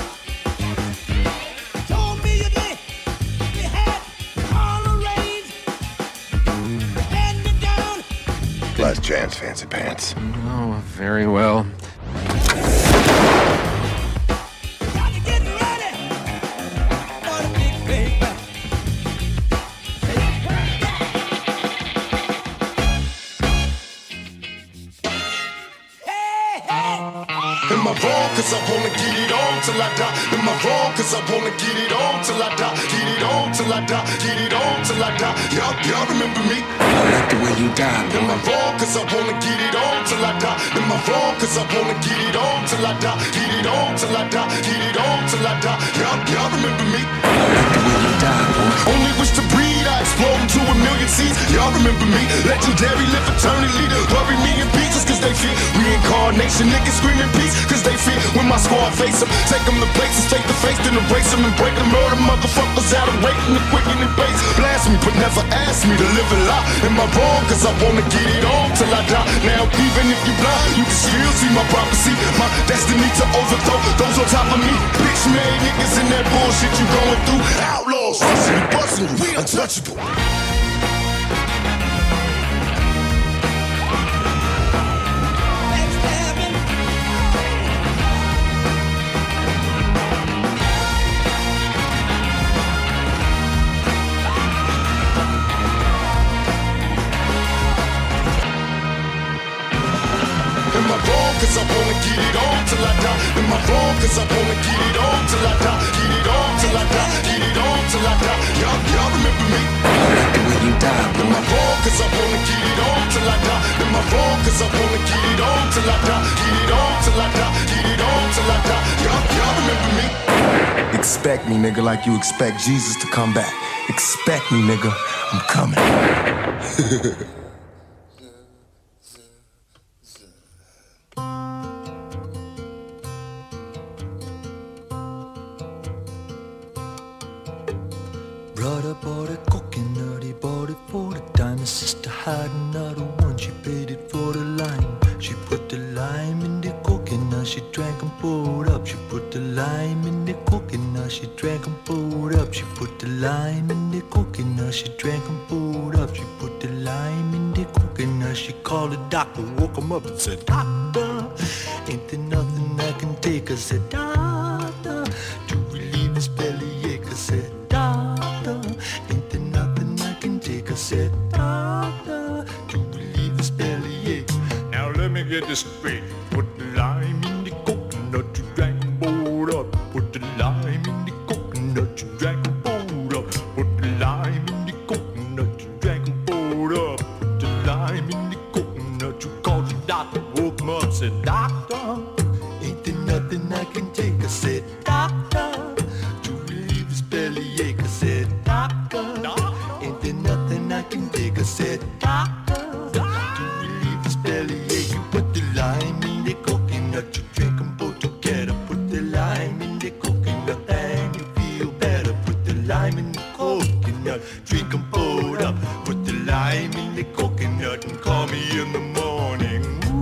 Told me you did. You had all arranged. Hand me down. Last chance, fancy pants. Oh, very well. Gotta get ready for the big paper. Hey, hey! Am I wrong? Cause I wanna get it on till I die. Am I wrong? Cause I wanna get it on till I die. Get it on till I die. Get it on till I die. Y'all remember me? I like the way you die, Am I boy. wrong? Cause I wanna get it on till I die. Am I wrong? Cause I wanna get it on till I die. Get it on till I die. Get it on till I die. Y'all remember me? I like the way you die, boy. Only wish to breed, I explode into a million seeds. Y'all remember me? Legendary, live eternally. Bury me in pieces cause they fear reincarnation. Niggas screaming peace cause they fear when my squad face them. Take them to places, take the face, then erase them and break them. Murder motherfuckers out of waiting, the quicken and base. Blast me, but never ask me to live a lie. Am I wrong? Cause I wanna get it on till I die. Now even if you blind, you can still see my prophecy. My destiny to overthrow those on top of me. Bitch made niggas in that bullshit you going through. Outlaws, rushing you, busting you, we untouchable. Am I wrong? Cause I wanna get it on till I die. Am I wrong? Cause I wanna get it on till I die. Get it on till I die. Get it on till I die. Y'all remember me? I like the way you die, Am I boy. wrong? Cause I wanna get it on till I die. Am I wrong? Cause I wanna get it on till I die. Get it on till I die. Get it on till I die. Y'all remember me? Expect me, nigga, like you expect Jesus to come back. Expect me, nigga. I'm coming. Brother bought a coconut, he bought it for the dime. His sister had another one, she paid it for the lime. She put the lime in the coconut, she drank and poured up. She put the lime in the coconut, she drank and poured up. She put the lime in the coconut, she drank and poured up. She put the lime in the coconut, she called the doctor, woke him up and said, Doctor, ain't there nothing I can take? I said, Doctor, to relieve his bellyache. I said, Doctor, ain't there nothing I can take? I said, Doctor, to relieve his bellyache. Now let me get this straight. Put the lime in the coconut, you drank and poured up. Put the lime in the coconut, you drank and poured up. Put the lime in the coconut, you drank and poured up. Put the lime in the coconut, you called the doctor, woke him up, said, Doctor, ain't there nothing I can take? I said, Doctor, to relieve his bellyache. I said, Doctor, ain't there nothing I can take? I said, Doctor, to relieve his bellyache. You put the lime in the coconut, you drink them both together. Put the lime in the coconut and you feel better. Put the lime in the coconut, drink them both up. Put the lime in the coconut and call me in the morning.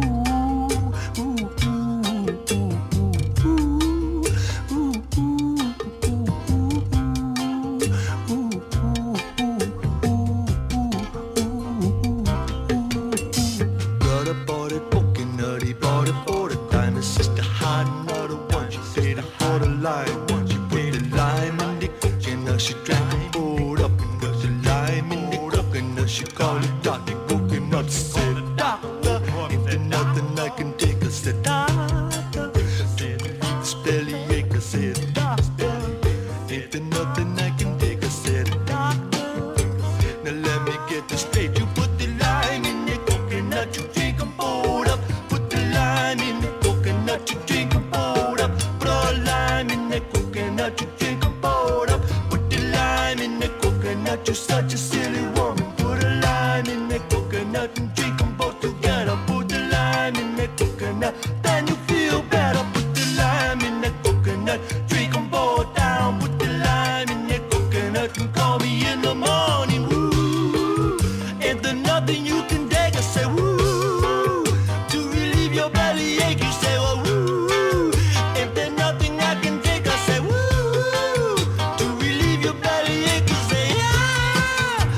Brother bought a coconut, he bought it for the dime. His sister had another one, she paid it for the lime. She put the lime in the coconut, she drank and poured up. And put the lime in the coconut, she called it Dr. Coconut. She said, Doctor, ain't there nothing I can take? I said, Doctor, to relieve this bellyache. I said, Doctor, ain't there nothing I can take? I said, Doctor, now let me get this straight. You put the lime in the coconut, you drink and poured up. Put the lime in the coconut, you drink and poured up. Put all lime in the coconut, you drink and poured up. Put the lime in the coconut, you're such a silly woman. Put a lime in the coconut and drink them both together. Put the lime in the coconut, then you feel better. Put the lime in the coconut, drink them both down. Put the lime in the coconut and call me in the morning. Woo, ain't there nothing you can take? I say, woo, to relieve your bellyache. You say, well, woo, ain't there nothing I can take? I say, woo, to relieve your bellyache. You say, yeah,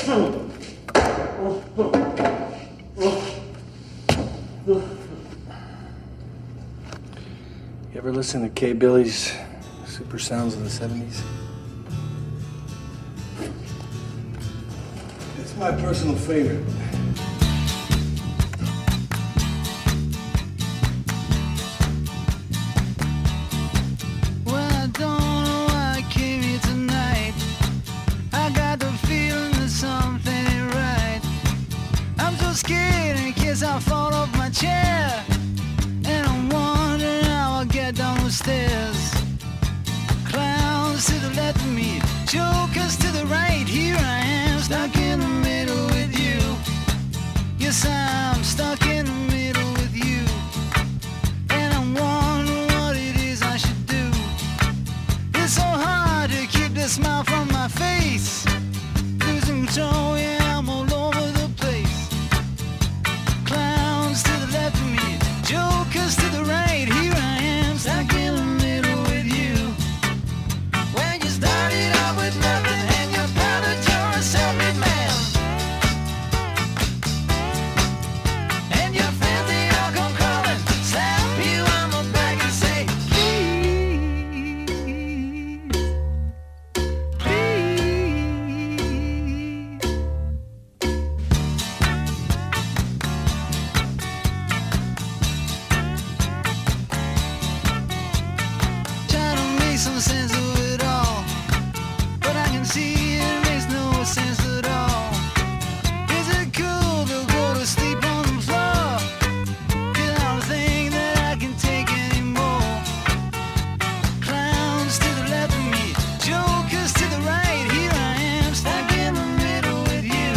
You ever listen to K. Billy's Super Sounds of the 70s? It's my personal favorite. Well, I don't know why I came here tonight. I got the feeling that something ain't right. I'm so scared in case I fall off my chair. And I'm wondering how I'll get down the stairs. Clowns to the left of me, jokers to the right. Here I am, stuck in the middle with you. Yes, I'm stuck in the middle with you. And I'm wondering what it is I should do. It's so hard to keep the smile from my face. Losing control, yeah, I'm all over the place. Clowns to the left of me, jokers to the right. Here I am, stuck in the middle with you. When you started out with nothing and you found that you're a self-made man. And your friends, they all come crawling, slap you on the back and say, please, try to make some sense of it all, but I can see it makes no sense at all. Is it cool to go to sleep on the floor? 'Cause I don't think that I can take anymore. Clowns to the left of me, jokers to the right. Here I am, stuck in the middle with you.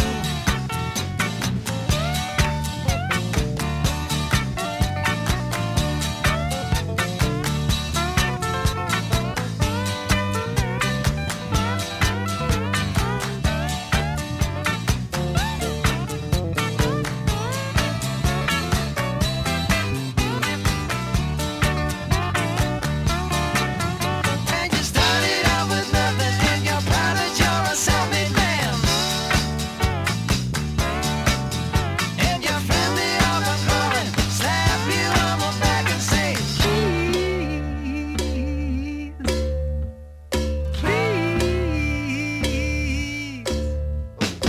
And you started out with nothing and you're proud that you're a self-made man. And your friends, they all come crawling, slap you on the back and say, please, please.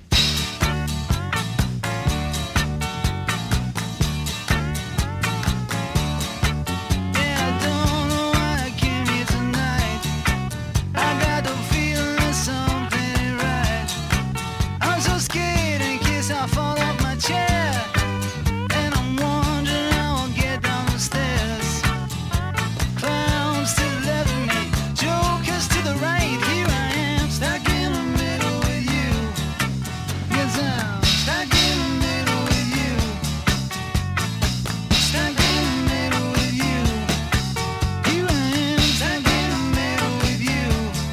Yeah, I don't know why I came here tonight. I got the feeling that something ain't right. I'm so scared in case I fall off my chair. And I'm wondering how I'll get down the stairs. Clowns to the left of me, jokers to the right. Here I am, stuck in the middle with you. Yes, I'm stuck in the middle with you. Stuck in the middle with you. Here I am, stuck in the middle with you.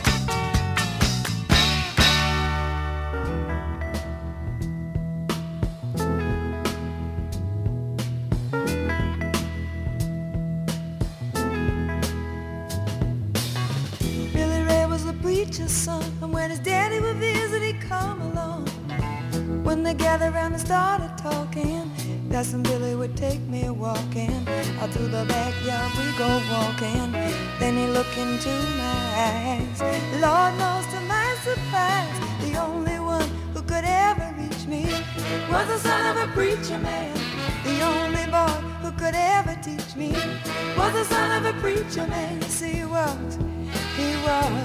Billy Ray was a preacher's son, and when his daddy would visit, he'd come along. When they gathered around and started talking, that's when Billy would take me walking. Out through the backyard we go walking. Then he looked into my eyes. Lord knows to my surprise, the only one who could ever reach me was the son of a preacher man. The only boy who could ever teach me was the son of a preacher man. Yes, he was. He was.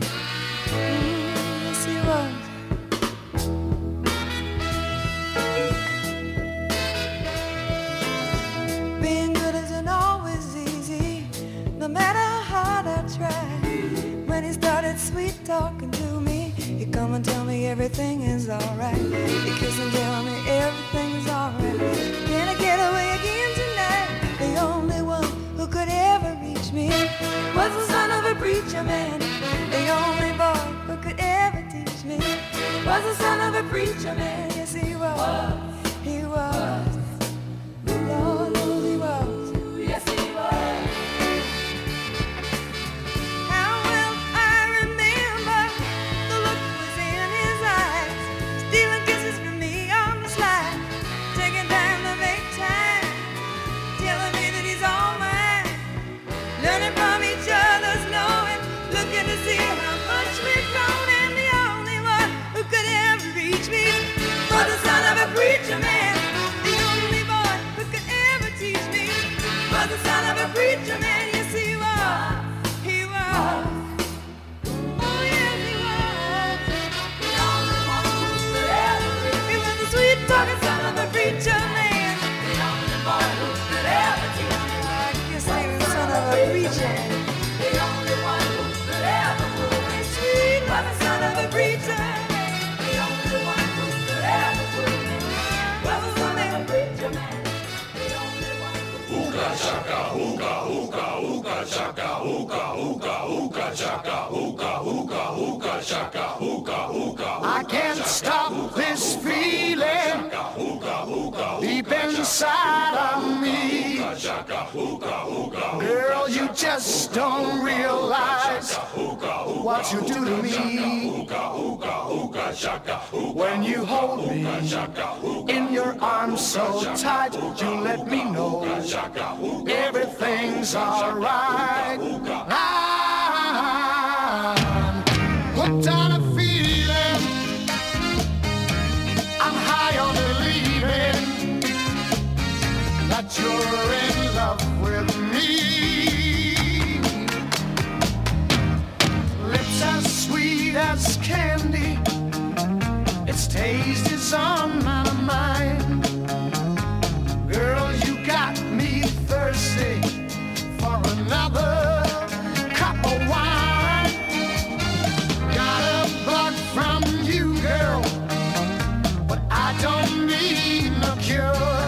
Yes, he was. Being good isn't always easy, no matter how hard I try. When he started sweet talking to me, he'd come and tell me everything is alright. He'd kiss and tell me everything is alright. Can I get away again tonight? The only one who could ever reach me was the son of a preacher man. The only boy who could ever teach me was the son of a preacher man. Yes, he was. He was. Lord knows he was. Yes, he was. How well I remember the look was in his eyes. I can't stop this feeling deep inside of me. Girl, you just don't realize what you do to me. When you hold me in your arms so tight, you let me know everything's alright. I'm hooked on a feeling, I'm high on believing that you're in love with me. Lips as sweet as candy, its taste is on my mind. Girl, you got me thirsty for another cup of wine. Got a bug from you, girl, but I don't need no cure.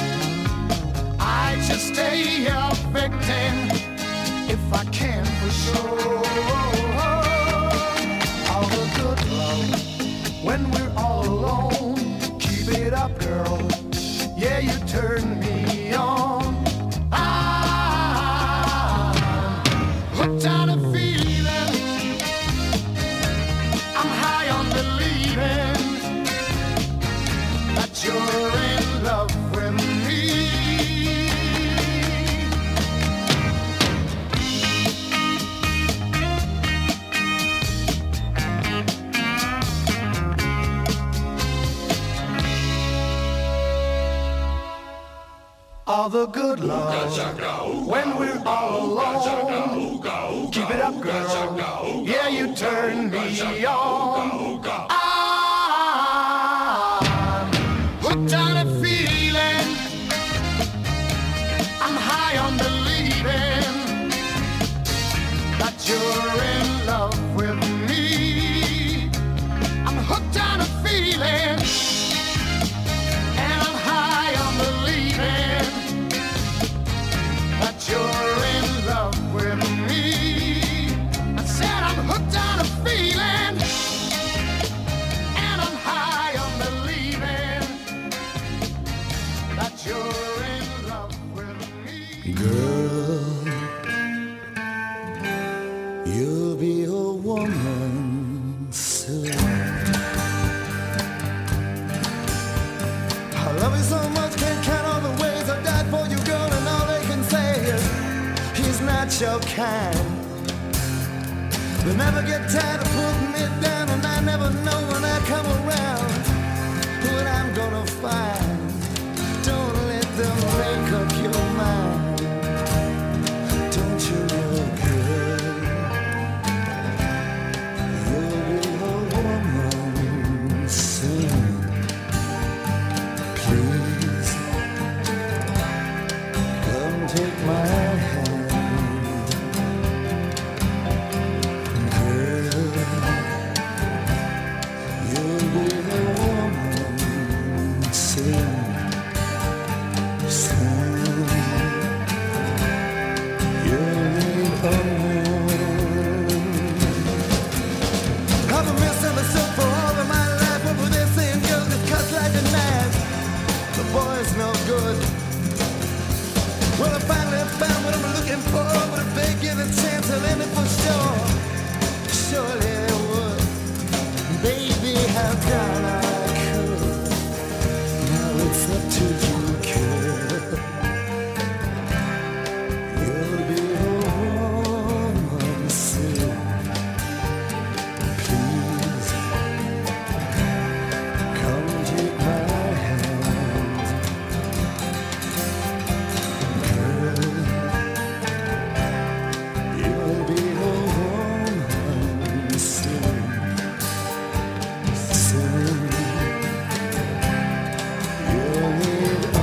I just stay a victim if I can for sure. All the good love when we're all alone. Keep it up, girl. Yeah, you turn me on. I'm hooked on a feeling, I'm high on believing that you're in love with me. All the good love when we're all alone. Keep it up, girl. Yeah, you turn me on. I'm hooked on a feeling, I'm high on believing that you're in love with me. I'm hooked on a feeling, and I'm high on believing that you're in love with me. I said I'm hooked on a feeling, and I'm high on believing that you're in love with me. Girl, you'll be a woman soon. I love you so much, can't count all the ways I died for you, girl, and all they can say is he's not your kind. They never get tired of putting me down, and I never know when I come around what I'm gonna find. Don't let them make up your mind. Don't you know, girl, you'll be a woman soon. Please, come take my hand. Girl, you'll be a woman soon. Soon, you'll be a woman. I've been misunderstood for all of my life. What were they saying, girl, just cuts like a knife. The boy's no good. Well, I finally found what I'm looking for, but if they give a chance, I'll end it for sure. Surely they would. Baby, how can I could? Now it's up to you, girl. You'll be a woman soon. Please, come take my hand. Girl, you'll be a woman soon. Soon, you'll need a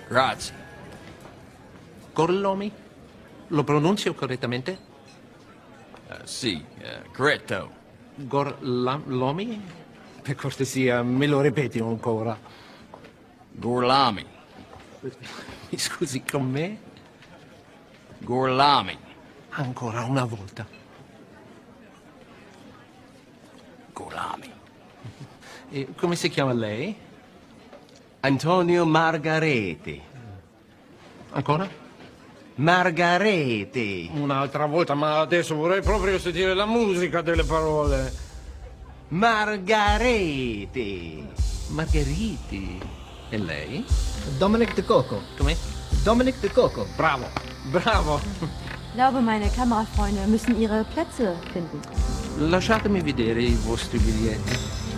Grazie. Gorlomi? Lo pronuncio correttamente? Sì, corretto. Gorlomi? Per cortesia, me lo ripeti ancora. Gorlami. Mi scusi, con me? Gorlami. Ancora una volta. Gorlami. E come si chiama lei? Antonio Margareti. Ancora? Margareti. Un'altra volta, ma adesso vorrei proprio sentire la musica delle parole. Margareti. Margheriti. E lei? Dominic De Coco. Come? Dominic De Coco. Bravo, bravo. Ich glaube, meine Kamerafreunde müssen ihre Plätze finden. Lasciatemi vedere i vostri biglietti.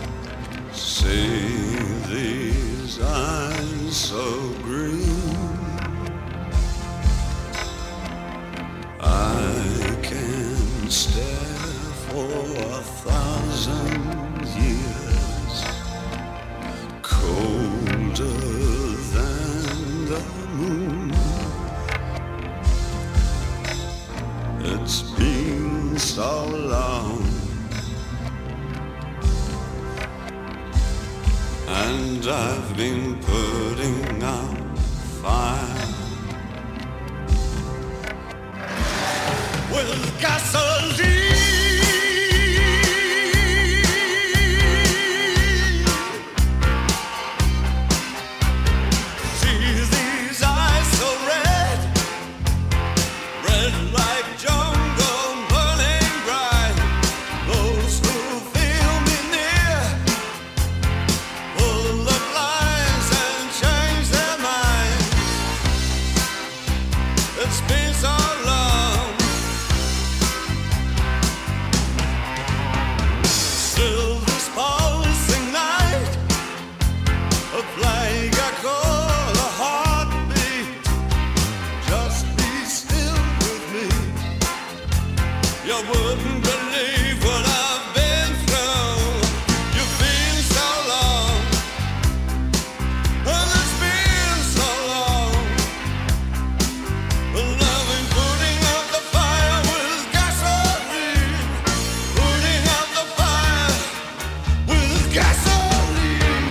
See these eyes so green, I can stare for 1,000 years, colder than the moon. It's been so long, and I've been putting out fire with gasoline. See these eyes so red, red like jungle burning bright. Those who feel me near pull the blinds and change their mind. It's been so long, still this pulsing night, a plague I call a heartbeat. Just be still with me. You wouldn't believe what I've been through. You've been so long, and it's been so long. Well, I've been putting out the fire with gasoline, putting out the fire with gasoline.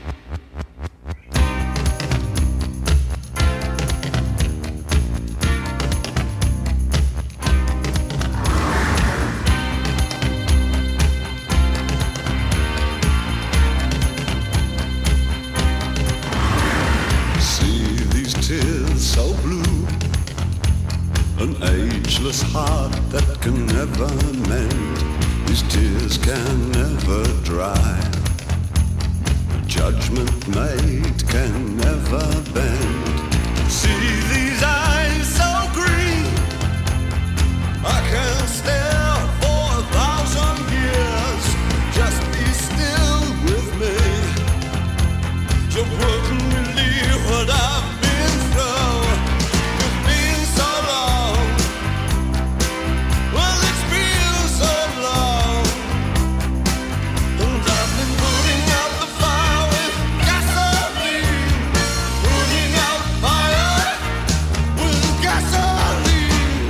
See these tears so blue, an ageless heart that can never mend. These tears can never dry. A judgment made can never bend. See these eyes so green, I can stare for 1,000 years. Just be still with me. You wouldn't believe what I've been through. You've been so long. Well, it's been so long. And I've been putting out the fire with gasoline. Putting out fire with gasoline.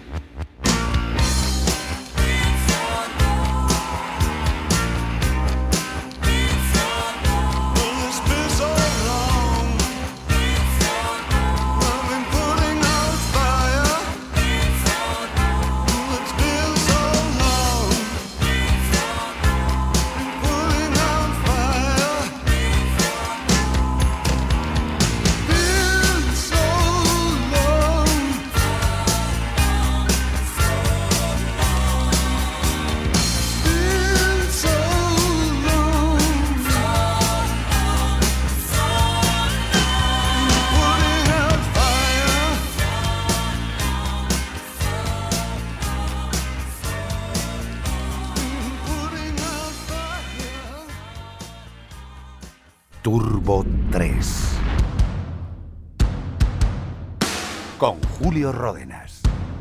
Well, it's been so long. I've been putting out fire. It's been so long. Putting out fire. Been so long. Been so long. Putting out fire. Putting out fire. Turbo 3 con Julio Ródenas.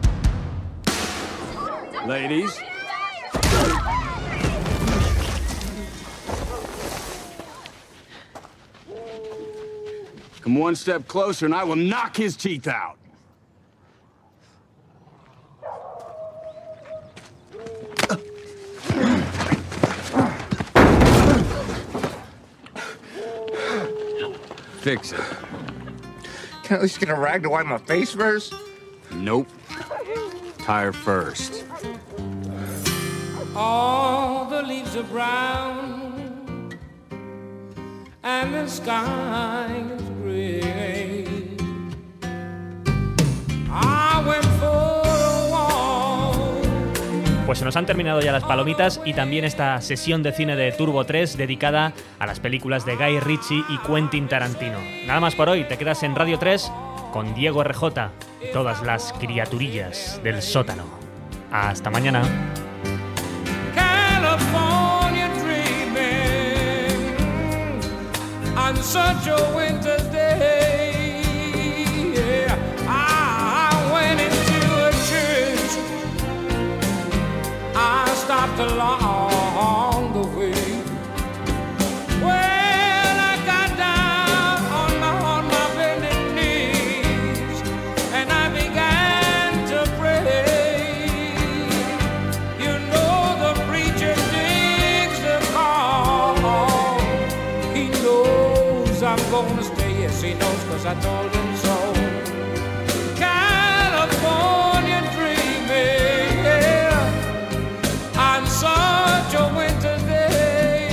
Ladies. Come one step closer and I will knock his teeth out. Fix it. Can I at least get a rag to wipe my face first? Nope. Tire first. All the leaves are brown and the sky is gray. I went for a walk. Pues se nos han terminado ya las palomitas y también esta sesión de cine de Turbo 3 dedicada a las películas de Guy Ritchie y Quentin Tarantino. Nada más por hoy, te quedas en Radio 3 con Diego RJ y todas las criaturillas del sótano. Hasta mañana. California dreaming on such a winter's day. Yeah, I went into a church. I stopped along the way. Well, I got down on my bended knees and I began to pray. You know the preacher digs the call. He knows I'm gonna stay. Yes, he knows, 'cause I told him so. California dreaming, yeah, on such a winter's day.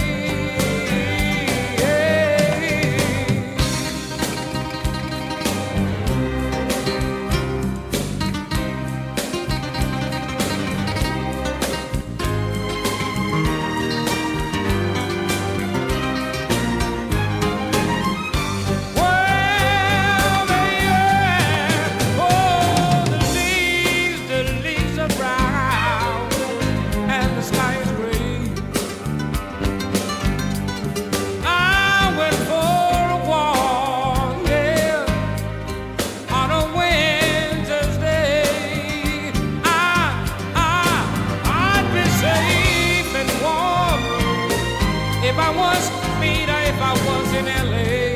Well, yeah, oh, the leaves are brown and the sky is gray. I went for a walk, yeah, on a winter's day. I'd be safe and warm if I was me, if I was in LA.